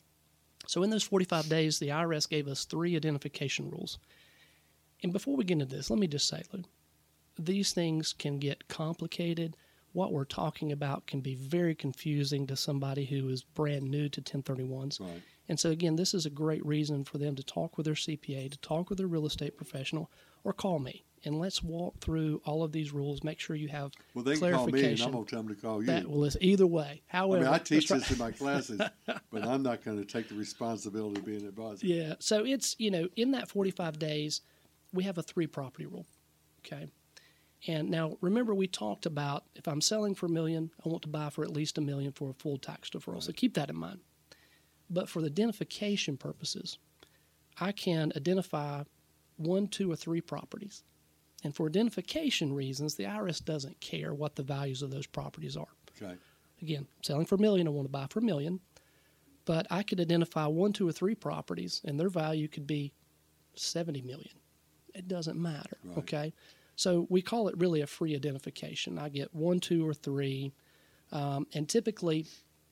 So, in those forty-five days, the I R S gave us three identification rules. And before we get into this, let me just say, Lou, these things can get complicated. What we're talking about can be very confusing to somebody who is brand new to ten thirty-ones. Right. And so, again, this is a great reason for them to talk with their C P A, to talk with their real estate professional, or call me. And let's walk through all of these rules, make sure you have Well, they can call me, and clarification. I'm going to tell them to call you. That, well, it's either way. I However, mean, I teach let's this try- in my classes, but I'm not going to take the responsibility of being an advisor. Yeah. So it's, you know, in that forty-five days, we have a three property rule. Okay. And now remember, we talked about if I'm selling for a million, I want to buy for at least a million for a full tax deferral. So keep that in mind. But for the identification purposes, I can identify one, two, or three properties. And for identification reasons, the I R S doesn't care what the values of those properties are. Okay. Again, selling for a million, I want to buy for a million. But I could identify one, two, or three properties, and their value could be seventy million. It doesn't matter. Right. Okay. So we call it really a free identification. I get one, two, or three. Um, and typically,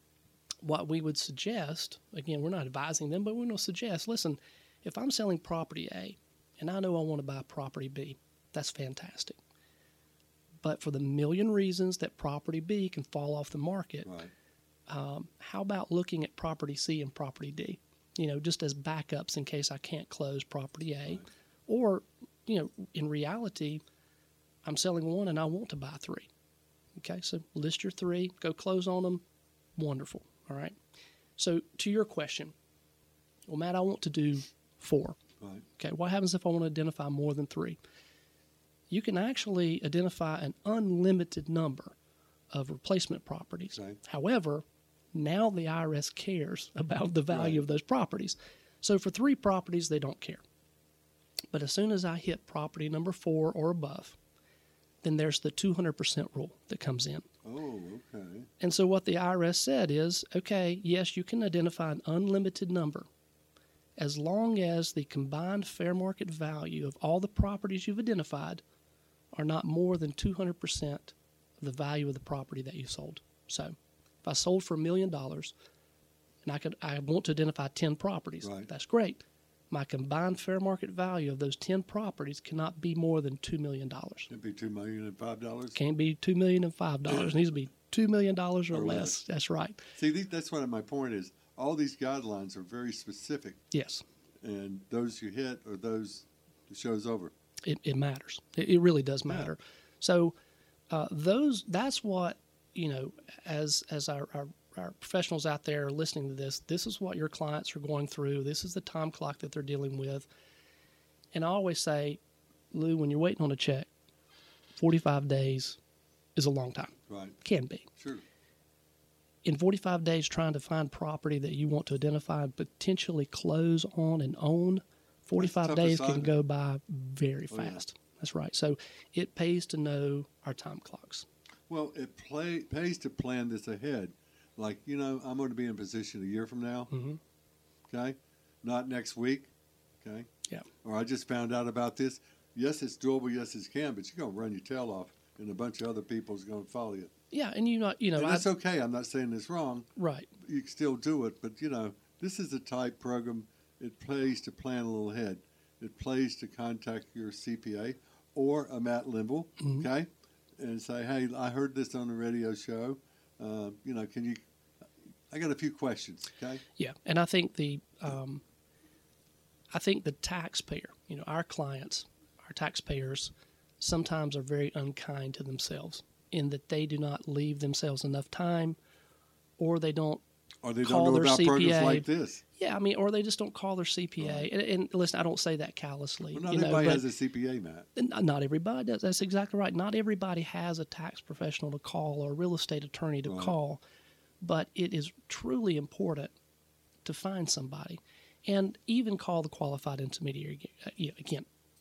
what we would suggest, again, we're not advising them, but we're going to suggest, listen, if I'm selling property A and I know I want to buy property B, that's fantastic. But for the million reasons that property B can fall off the market, Right. um, how about looking at property C and property D? You know, just as backups in case I can't close property A. Right. Or, you know, in reality, I'm selling one and I want to buy three. Okay, so list your three, go close on them. Wonderful. All right. So to your question, well, Matt, I want to do four. Right. Okay, what happens if I want to identify more than three? You can actually identify an unlimited number of replacement properties. Okay. However, now the I R S cares about the value Right. of those properties. So for three properties, they don't care. But as soon as I hit property number four or above, then there's the two hundred percent rule that comes in. Oh, okay. And so what the I R S said is, okay, yes, you can identify an unlimited number as long as the combined fair market value of all the properties you've identified are not more than two hundred percent of the value of the property that you sold. So if I sold for a million dollars and I could I want to identify ten properties, Right. that's great. My combined fair market value of those ten properties cannot be more than two million dollars. It'd be two million and five dollars. Can't be two million and five dollars. It needs to be two million dollars or, Or less. less. That's right. See, these, that's what my point is. All these guidelines are very specific, Yes, and those you hit or those the show's over. it, it matters. It, it really does Yeah. matter. So uh, those that's what, you know, as as our, our our professionals out there listening to this, this is what your clients are going through. This is the time clock that they're dealing with. And I always say, Lou, when you're waiting on a check, forty-five days is a long time. Right. Can be. Sure. In forty-five days, trying to find property that you want to identify and potentially close on and own, forty-five tough days can assignment. go by very Oh, yeah. fast. That's right. So it pays to know our time clocks. Well, it play, pays to plan this ahead. Like, you know, I'm going to be in a position a year from now, Mm-hmm. okay? Not next week, okay? Yeah. Or I just found out about this. Yes, it's doable. Yes, it can, but you're going to run your tail off, and a bunch of other people's going to follow you. Yeah, and you know, you know, And I, that's okay. I'm not saying it's wrong. right. You can still do it, but, you know, this is a type program. It pays to plan a little ahead. It pays to contact your C P A or a Matt Limble, Mhm. okay, and say, hey, I heard this on the radio show. Uh, you know, can you – I got a few questions, okay? Yeah, and I think the, um, I think the taxpayer, you know, our clients, our taxpayers, sometimes are very unkind to themselves in that they do not leave themselves enough time, or they don't. Or they Call don't know their about C P A. programs like this. Yeah, I mean, or they just don't call their C P A. Right. And, and listen, I don't say that callously. Well, not you know, everybody but has a C P A, Matt. n- not everybody does. That's exactly right. Not everybody has a tax professional to call or a real estate attorney to Right. call, but it is truly important to find somebody, and even call the qualified intermediary. Uh, yeah, again,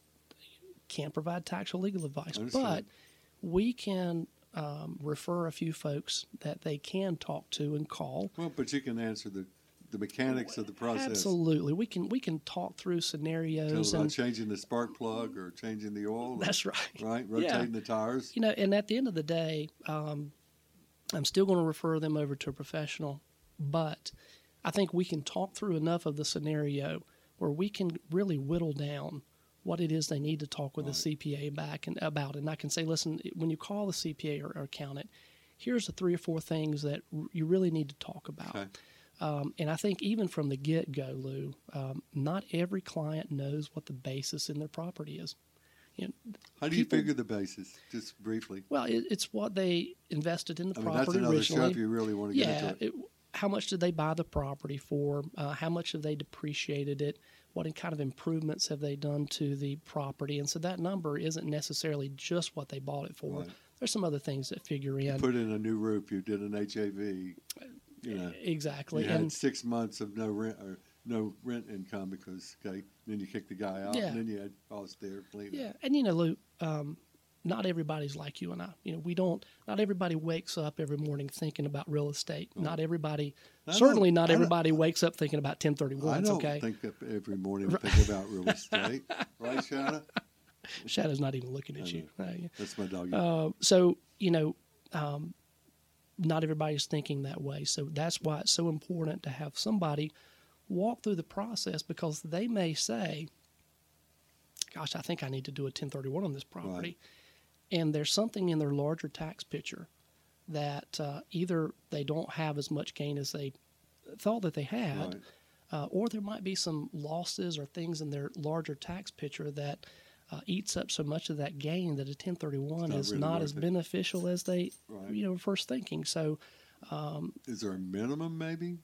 can't provide tax or legal advice, Understood. but we can um, refer a few folks that they can talk to and call. Well, but you can answer the, the mechanics of the process. Absolutely, we can we can talk through Tell scenarios about and changing the spark plug or changing the oil. or- that's right. right, Yeah. rotating the tires. You know, and at the end of the day, um, I'm still going to refer them over to a professional, but I think we can talk through enough of the scenario where we can really whittle down what it is they need to talk with Right. the C P A back and about. And I can say, listen, when you call the C P A or, or accountant, here's the three or four things that r- you really need to talk about. Okay. Um, and I think even from the get-go, Lou, um, not every client knows what the basis in their property is. You know, How do you people- figure the basis, just briefly? well, it, it's what they invested in the I mean, that's property another show originally. if you really want to get Yeah, into it. it, how much did they buy the property for? Uh, how much have they depreciated it? What kind of improvements have they done to the property? And so that number isn't necessarily just what they bought it for. Right. There's some other things that figure in. Put in a new roof. You did an H A V. You know, Exactly. you had And six months of no rent or no rent income because okay, then you kicked the guy out, Yeah. and then you had costs there, clean yeah, up. and you know, Lou, um, not everybody's like you and I. You know, we don't. Not everybody wakes up every morning thinking about real estate. Not everybody. I don't- Certainly, not I don't- everybody wakes up thinking about ten I thirty-ones. don't Okay, think that every morning we think about real estate, right, Shana? Shadow's not even looking at I you. Uh, yeah. That's my dog. Uh, so you know, um, not everybody's thinking that way. So that's why it's so important to have somebody walk through the process, because they may say, "Gosh, I think I need to do a ten thirty-one on this property," and there's something in their larger tax picture that uh, either they don't have as much gain as they thought that they had, Right. uh, or there might be some losses or things in their larger tax picture that uh, eats up so much of that gain that a ten thirty-one not is really not worth as it. beneficial as they Right. you know were first thinking. So Is there a minimum, maybe?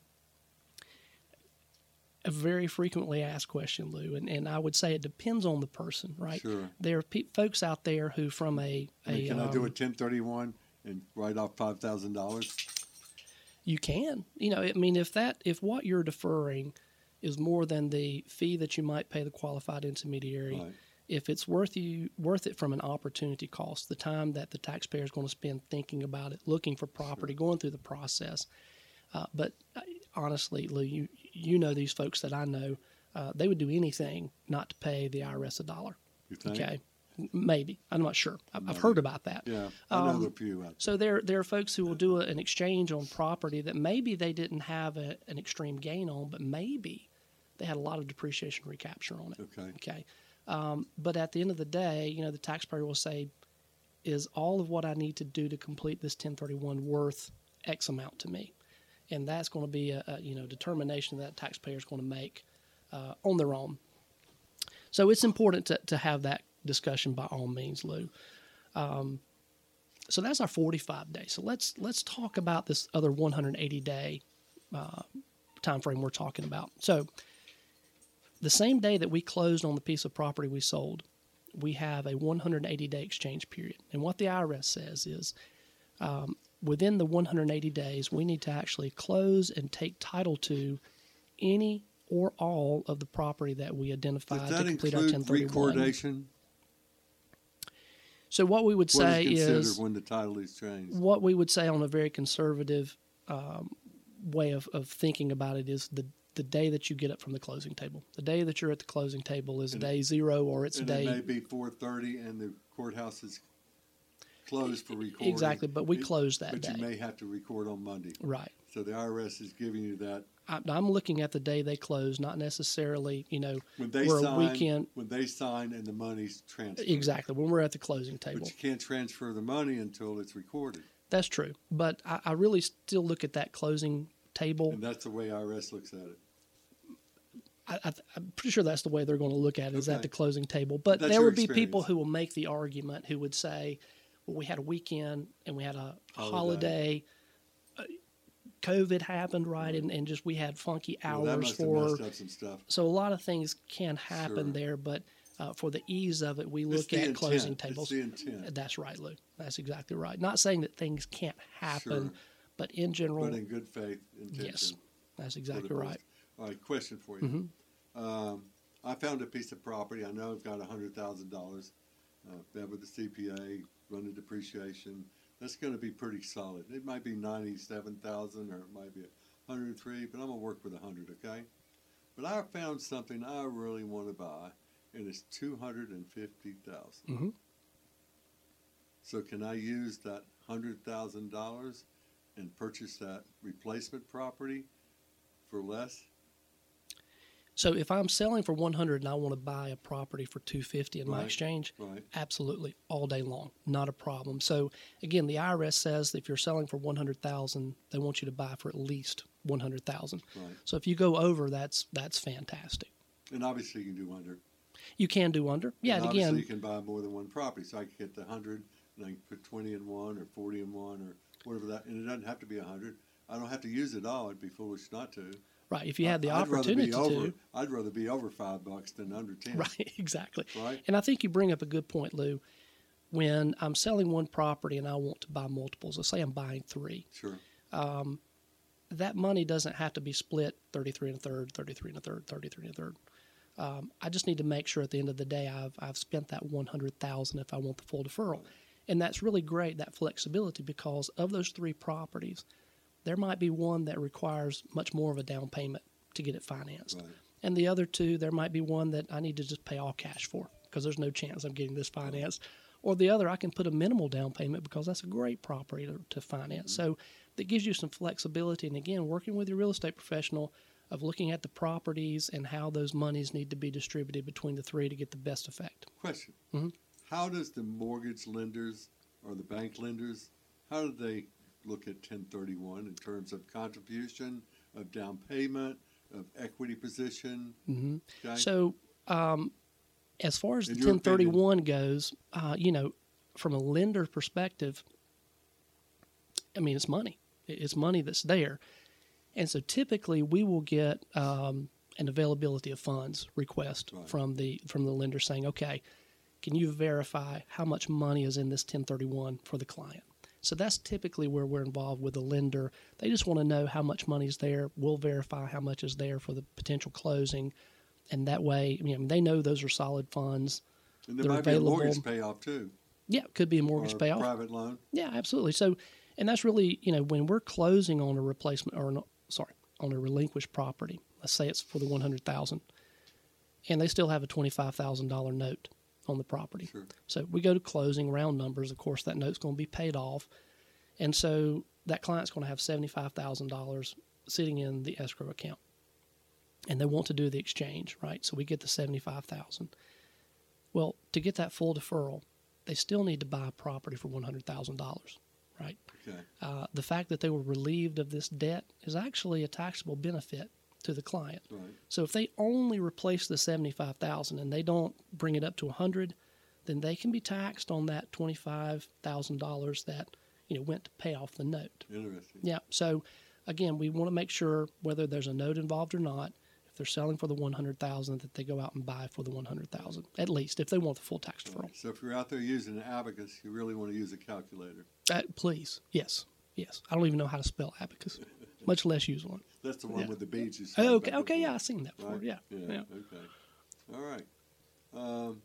a very frequently asked question, Lou, and, and I would say it depends on the person, right? Sure. There are pe- folks out there who, from a, I mean, a can I do a um, ten thirty-one and write off five thousand dollars? you can, you know, I mean, if that if what you're deferring is more than the fee that you might pay the qualified intermediary, Right. if it's worth you worth it from an opportunity cost, the time that the taxpayer is going to spend thinking about it, looking for property, going through the process. Uh, but uh, honestly, Lou, you you know these folks that I know, uh, they would do anything not to pay the I R S a dollar. You think? Okay, M- maybe I'm not sure. I've, I've Maybe. heard about that. Yeah, I know Um, a few out So there, there are folks who will do a, an exchange on property that maybe they didn't have a, an extreme gain on, but maybe they had a lot of depreciation recapture on it. there. Okay. Okay, um, but at the end of the day, you know, the taxpayer will say, is all of what I need to do to complete this ten thirty-one worth X amount to me? And that's going to be a, a you know determination that taxpayer is going to make uh, on their own. So it's important to, to have that discussion by all means, Lou. Um, so that's our forty-five day. So let's let's talk about this other one hundred eighty day uh, time frame we're talking about. So the same day that we closed on the piece of property we sold, we have a one hundred eighty day exchange period. And what the I R S says is um, within the one hundred eighty days, we need to actually close and take title to any or all of the property that we identified Does that to complete our include ten thirty-one. recordation? So what we would What say is considered is when the title is changed? what we would say on a very conservative um, way of, of thinking about it is the the day that you get up from the closing table. The day that you're at the closing table is And day zero, or it's and day it may be four thirty, and the courthouse is closed for recording. exactly. But we It- close that But day, you may have to record on Monday. right? So the I R S is giving you that I, I'm looking at the day they close, not necessarily, you know, when they we're a sign. weekend. When they sign and the money's transferred. Exactly, when we're at the closing table. But you can't transfer the money until it's recorded, That's true. But I, I really still look at that closing table. and that's the way I R S looks at it. I, I, I'm pretty sure that's the way they're going to look at it, is Okay. at the closing table. But That's there your would be people experience. who will make the argument who would say, well, we had a weekend and we had a Holiday. holiday. Uh, COVID happened, right? And, and just we had funky Well, that hours must have for. messed up some stuff. So a lot of things can happen Sure. there, but uh, for the ease of it, we It's look the at intent. closing It's tables. the intent. That's right, Lou. That's exactly right. Not saying that things can't happen, Sure. but in general, But in good faith, intention. yes, that's for the exactly right. post. All right, question for you. Mhm. Um, I found a piece of property. I know I've got one hundred thousand dollars. Uh, met with the C P A, run the depreciation. That's going to be pretty solid. It might be ninety-seven thousand dollars or it might be one hundred three, but I'm going to work with one hundred, okay? But I found something I really want to buy, and it's two hundred fifty thousand dollars. hmm So can I use that one hundred thousand dollars and purchase that replacement property for less? So if I'm selling for one hundred and I want to buy a property for two hundred fifty in my Right. exchange, Right. absolutely, all day long, not a problem. So again, the I R S says that if you're selling for one hundred thousand, they want you to buy for at least one hundred thousand. Right. So if you go over, that's that's fantastic. And obviously you can do under. You can do under, yeah. And And obviously again, you can buy more than one property. So I could get the one hundred and I can put twenty in one or forty in one or whatever that. And it doesn't have to be one hundred. I don't have to use it all. I'd be foolish not to. right? If you had the I'd rather opportunity be over, to, I'd rather be over five bucks than under ten. right? Exactly. Right? And I think you bring up a good point, Lou. When I'm selling one property and I want to buy multiples, let's say I'm buying three, Sure. um, that money doesn't have to be split thirty-three and a third, thirty-three and a third, thirty-three and a third. Um, I just need to make sure at the end of the day I've I've spent that one hundred thousand if I want the full deferral, and that's really great, that flexibility, because of those three properties, there might be one that requires much more of a down payment to get it financed, Right. and the other two, there might be one that I need to just pay all cash for because there's no chance I'm getting this financed, or the other I can put a minimal down payment because that's a great property to, to finance. So that gives you some flexibility, and again, working with your real estate professional of looking at the properties and how those monies need to be distributed between the three to get the best effect. Question. Mhm. How does the mortgage lenders or the bank lenders, how do they look at ten thirty-one in terms of contribution, of down payment, of equity position? hmm Okay? So, um, as far as In the your ten thirty-one goes, uh, you know, from a lender perspective, I mean, it's money. It- It's money that's there. And so typically we will get um, an availability of funds request Right. from the from the lender saying, okay, can you verify how much money is in this ten thirty-one for the client? So that's typically where we're involved with the lender. They just want to know how much money is there. We'll verify how much is there for the potential closing. And that way, I mean, they know those are solid funds. and there they're might be a mortgage available. payoff too. Yeah, it could be a mortgage or a payoff. private loan. Yeah, absolutely. So, and that's really, you know, when we're closing on a replacement or, no, sorry, on a relinquished property, let's say it's for the one hundred thousand dollars, and they still have a twenty-five thousand dollars note on the property. Sure. So we go to closing, round numbers, of course, that note's going to be paid off. And so that client's going to have seventy-five thousand dollars sitting in the escrow account. And they want to do the exchange, right? So we get the seventy-five thousand dollars. Well, to get that full deferral, they still need to buy a property for one hundred thousand dollars, right? Okay. Uh, the fact that they were relieved of this debt is actually a taxable benefit to the client. Right. So if they only replace the seventy-five thousand dollars and they don't bring it up to one hundred thousand dollars, then they can be taxed on that twenty-five thousand dollars that, you know, went to pay off the note. Interesting. Yeah. So again, we want to make sure whether there's a note involved or not, if they're selling for the one hundred thousand dollars, that they go out and buy for the one hundred thousand dollars, at least, if they want the full tax deferral. Right. So if you're out there using an abacus, you really want to use a calculator. Uh, please. Yes. Yes. I don't even know how to spell abacus, much less use one. That's the one Yeah. with the beads you said. Oh, okay. back Okay. before. Yeah. I've seen that before. Right? Yeah. Yeah. Yeah. Okay. All right. Um,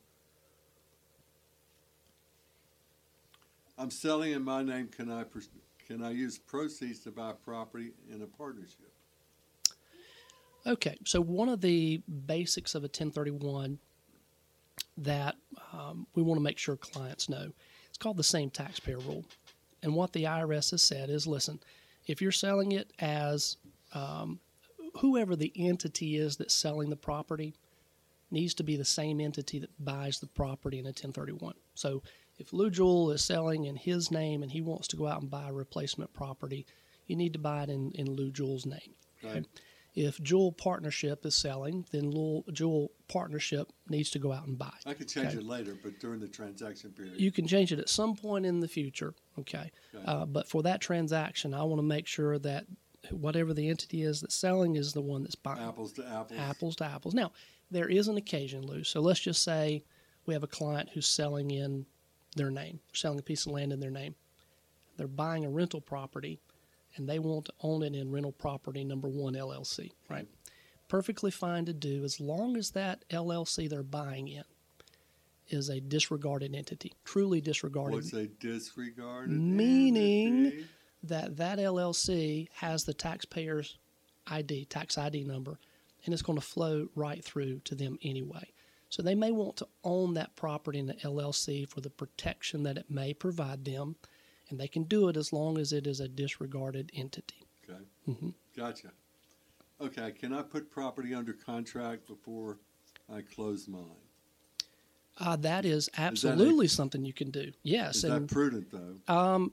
I'm selling in my name. Can I pers- can I use proceeds to buy property in a partnership? Okay, so one of the basics of a ten thirty-one that um, we want to make sure clients know, it's called the same taxpayer rule. And what the I R S has said is, listen, if you're selling it as um, whoever the entity is that's selling the property needs to be the same entity that buys the property in a ten thirty-one. So if Lou Jewell is selling in his name and he wants to go out and buy a replacement property, you need to buy it in, in Lou Jewell's name. Okay? Right. If Jewell Partnership is selling, then Lou- Jewell Partnership needs to go out and buy. I could change Okay. it later, but during the transaction period. You can change it at some point in the future, okay? Okay. Uh, but for that transaction, I want to make sure that whatever the entity is that's selling is the one that's buying. apples to apples. Apples to apples. Now, there is an occasion, Lou. So let's just say we have a client who's selling in their name, selling a piece of land in their name. They're buying a rental property, and they want to own it in rental property number one L L C, right? Perfectly fine to do as long as that L L C they're buying in is a disregarded entity, truly disregarded. What's a disregarded Meaning entity? that that L L C has the taxpayer's I D, tax I D number, and it's going to flow right through to them anyway. So they may want to own that property in the L L C for the protection that it may provide them, and they can do it as long as it is a disregarded entity. Okay. Mhm. Gotcha. Okay. Can I put property under contract before I close mine? Uh, that is a- absolutely something you can do. Yes, Is and that prudent, though? um,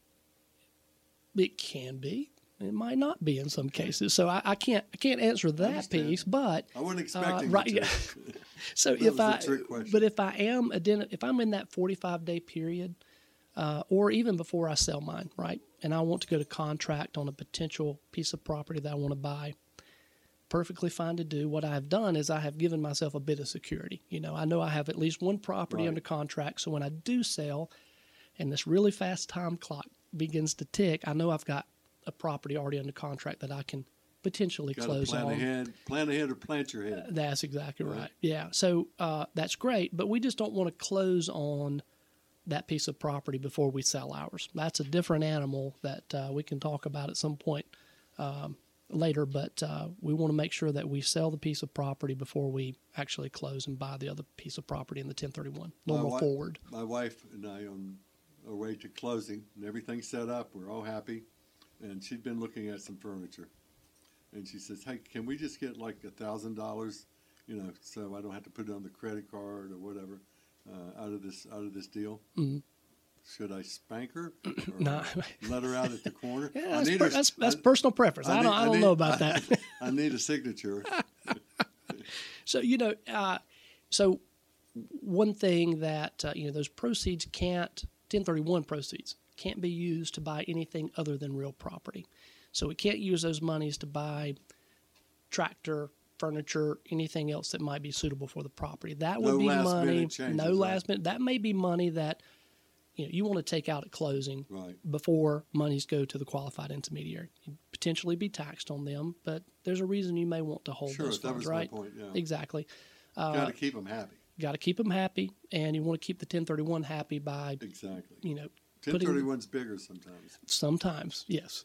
it can be. It might not be in some cases. So I, I can't I can't answer that understand. piece. But I wasn't expecting right, you to. yeah. so That if was a I trick question. but if I am identi- if I'm in that forty-five day period, uh, or even before I sell mine, right, and I want to go to contract on a potential piece of property that I want to buy, perfectly fine to do. What I've done is I have given myself a bit of security. You know, I know I have at least one property Right. under contract, so when I do sell, and this really fast time clock begins to tick, I know I've got a property already under contract that I can potentially Got to close plan on. ahead. Plan ahead or plant your head. That's exactly right. Right. Yeah. So uh, that's great, but we just don't want to close on that piece of property before we sell ours. That's a different animal that uh, we can talk about at some point um, later, but uh, we want to make sure that we sell the piece of property before we actually close and buy the other piece of property in the ten thirty-one. My Normal wi- forward. My wife and I on our way to closing, and everything's set up. We're all happy, and she'd been looking at some furniture, and she says, "Hey, can we just get like a thousand dollars, you know, so I don't have to put it on the credit card or whatever, uh, out of this out of this deal?" Mhm. Should I spank her or No. let her out at the corner? Yeah, I that's, need per- her- that's, that's I- personal preference. I, I don't, need- I I don't need- know about I- that. I need a signature. So, you know, uh, so one thing that, uh, you know, those proceeds can't, ten thirty-one proceeds can't be used to buy anything other than real property. So we can't use those monies to buy tractor, furniture, anything else that might be suitable for the property. That would No be last money, minute changes, no right? last minute. That may be money that, you know, you want to take out at closing Right. before monies go to the qualified intermediary. You'd potentially be taxed on them, but there's a reason you may want to hold Sure, those that funds, was right? my point. Yeah. Exactly. Uh, Got to keep them happy. Got to keep them happy, and you want to keep the ten thirty-one happy by, Exactly. you know, ten putting- thirty-one's bigger sometimes. sometimes, yes.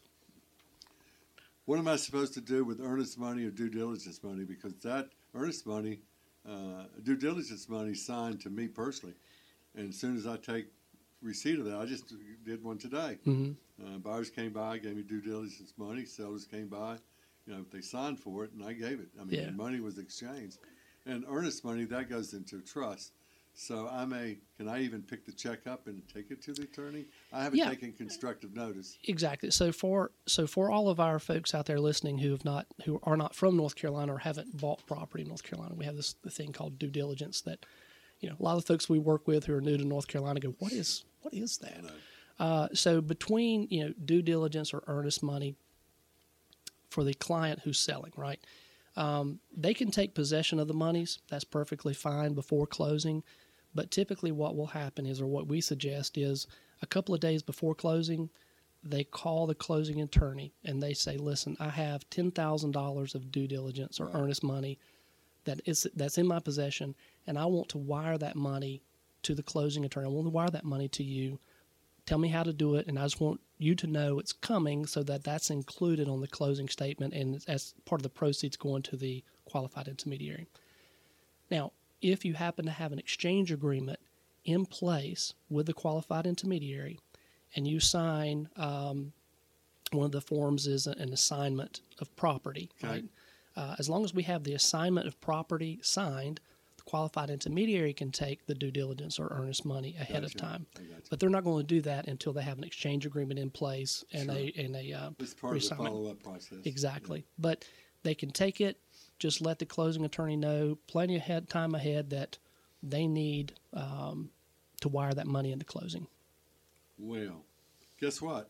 What am I supposed to do with earnest money or due diligence money? Because that earnest money, uh, due diligence money signed to me personally. And as soon as I take receipt of that, I just did one today. hmm Uh, buyers came by, gave me due diligence money. Sellers came by, you know, they signed for it, and I gave it. I mean, Yeah. the money was exchanged. And earnest money, that goes into trust. So I may, can I even pick the check up and take it to the attorney? I haven't Yeah. taken constructive notice. Exactly. So for so for all of our folks out there listening who have not who are not from North Carolina or haven't bought property in North Carolina, we have this the thing called due diligence that, you know, a lot of the folks we work with who are new to North Carolina go, what is what is that? Uh, so between, you know, due diligence or earnest money for the client who's selling, right? Um, they can take possession of the monies. That's perfectly fine before closing. But typically what will happen is, or what we suggest is, a couple of days before closing, they call the closing attorney and they say, listen, I have ten thousand dollars of due diligence or Right. earnest money that is, that's in my possession, and I want to wire that money to the closing attorney. I want to wire that money to you. Tell me how to do it, and I just want you to know it's coming so that that's included on the closing statement and as part of the proceeds going to the qualified intermediary. Now, if you happen to have an exchange agreement in place with the qualified intermediary and you sign, um, one of the forms is an assignment of property, Okay. right? Uh, as long as we have the assignment of property signed, the qualified intermediary can take the due diligence or earnest money ahead of Gotcha. time. I got you. But they're not going to do that until they have an exchange agreement in place and Sure. a and a uh, It's part of the reassignment. follow-up process. Exactly. But they can take it. Just let the closing attorney know plenty of head, time ahead that they need um, to wire that money into closing. Well, guess what?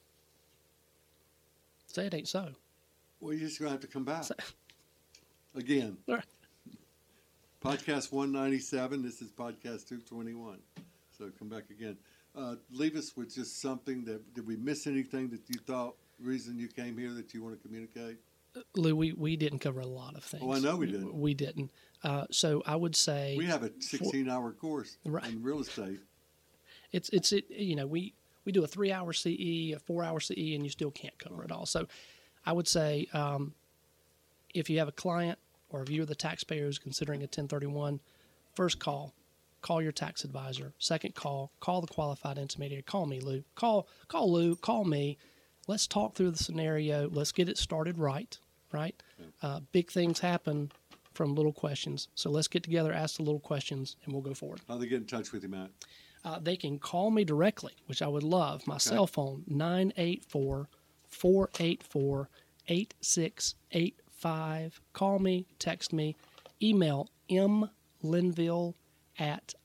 Say it ain't so. Well, you're just going to have to come back. Again. All right. Podcast one ninety-seven. This is podcast two twenty-one. So come back again. Uh, leave us with just something that, did we miss anything that you thought, reason you came here that you want to communicate? Lou, we, we didn't cover a lot of things. Oh, I know we didn't. We didn't. Uh, so I would say We have a sixteen-hour course Right. in real estate. it's it's it, you know we we do a three hour C E, a four hour C E, and you still can't cover it all. So I would say um, if you have a client or if you're the taxpayer who's considering a ten thirty-one, first call, call your tax advisor. Second call, call the qualified intermediary. Call me, Lou. Call call Lou. Call me. Let's talk through the scenario. Let's get it started right. Right. Uh, big things happen from little questions. So let's get together, ask the little questions, and we'll go forward. How they get in touch with you, Matt? Uh, they can call me directly, which I would love. My cell phone, nine eight four, four eight four, eight six eight five. Call me, text me, email mlinville at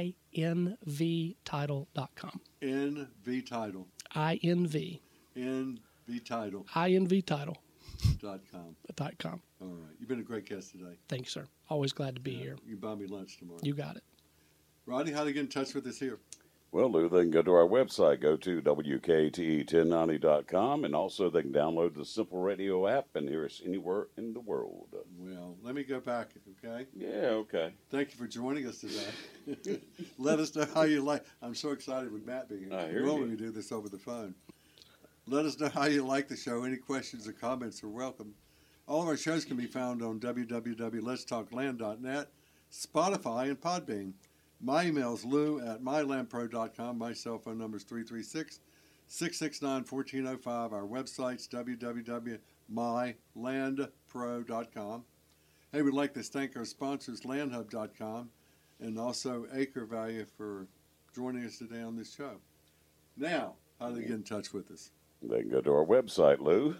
invtitle dot com. N V Title. I N V. N V Title invtitle dot com. dot com. All right. You've been a great guest today. Thank you, sir. Always glad to be Yeah, here. You buy me lunch tomorrow. You got it. Rodney, how do they get in touch with us here? Well, Lou, they can go to our website, go to W K T E ten ninety dot com, and also they can download the Simple Radio app and hear us anywhere in the world. Well, let me go back, okay? Yeah, okay. Thank you for joining us today. Let us know how you like. I'm so excited with Matt being here. I hear Normally you. we do this over the phone. Let us know how you like the show. Any questions or comments are welcome. All of our shows can be found on w w w dot lets talk land dot net, Spotify, and Podbean. My email is lou at my land pro dot com. My cell phone number is three three six, six six nine, one four zero five. Our website's w w w dot my land pro dot com. Hey, we'd like to thank our sponsors, land hub dot com, and also Acre Value for joining us today on this show. Now, how do they get in touch with us? They can go to our website, Lou,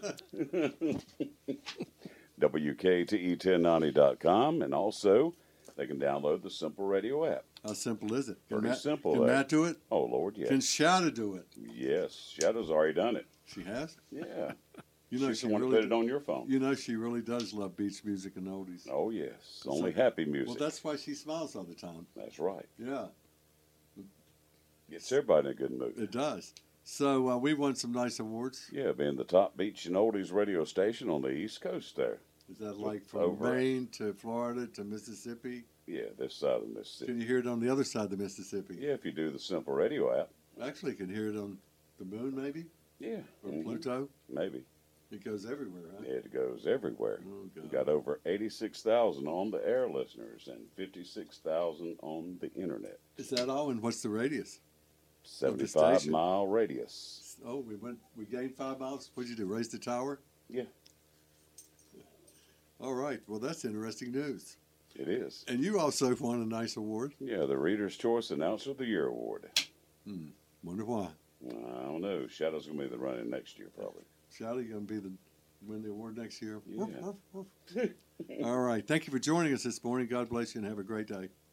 W K T E ten ninety dot com, and also they can download the Simple Radio app. How simple is it? Can Pretty Matt, simple, Can eh? Matt do it? Oh, Lord, yes. Can Shada do it? Yes, Shadow's already done it. She has? Yeah. You know, She's she the one who really put it on your phone. You know, she really does love beach music and oldies. Oh, yes. Only like- happy music. Well, that's why she smiles all the time. That's right. Yeah, Gets everybody in a good mood. it does. So uh, we won some nice awards. Yeah, being the top beach and oldies radio station on the East Coast there. Is that like from Over. Maine to Florida to Mississippi? Yeah, this side of Mississippi. Can you hear it on the other side of the Mississippi? Yeah, if you do the Simple Radio app. Actually, you can hear it on the moon, maybe, Yeah. or mhm, Pluto. Maybe. It goes everywhere, huh? It goes everywhere. Oh, We God. got over eighty-six thousand on the air listeners and fifty-six thousand on the internet. Is that all? And what's the radius? seventy-five station? mile radius. Oh, we went. We gained five miles. What'd you do? Raise the tower? Yeah. All right. Well, that's interesting news. It is. And you also won a nice award. Yeah, the Reader's Choice Announcer of the Year award. Hmm. Wonder why. I don't know. Shadow's going to be the running next year, probably. Shadow going to be the win the award next year. Yeah. All right. Thank you for joining us this morning. God bless you and have a great day.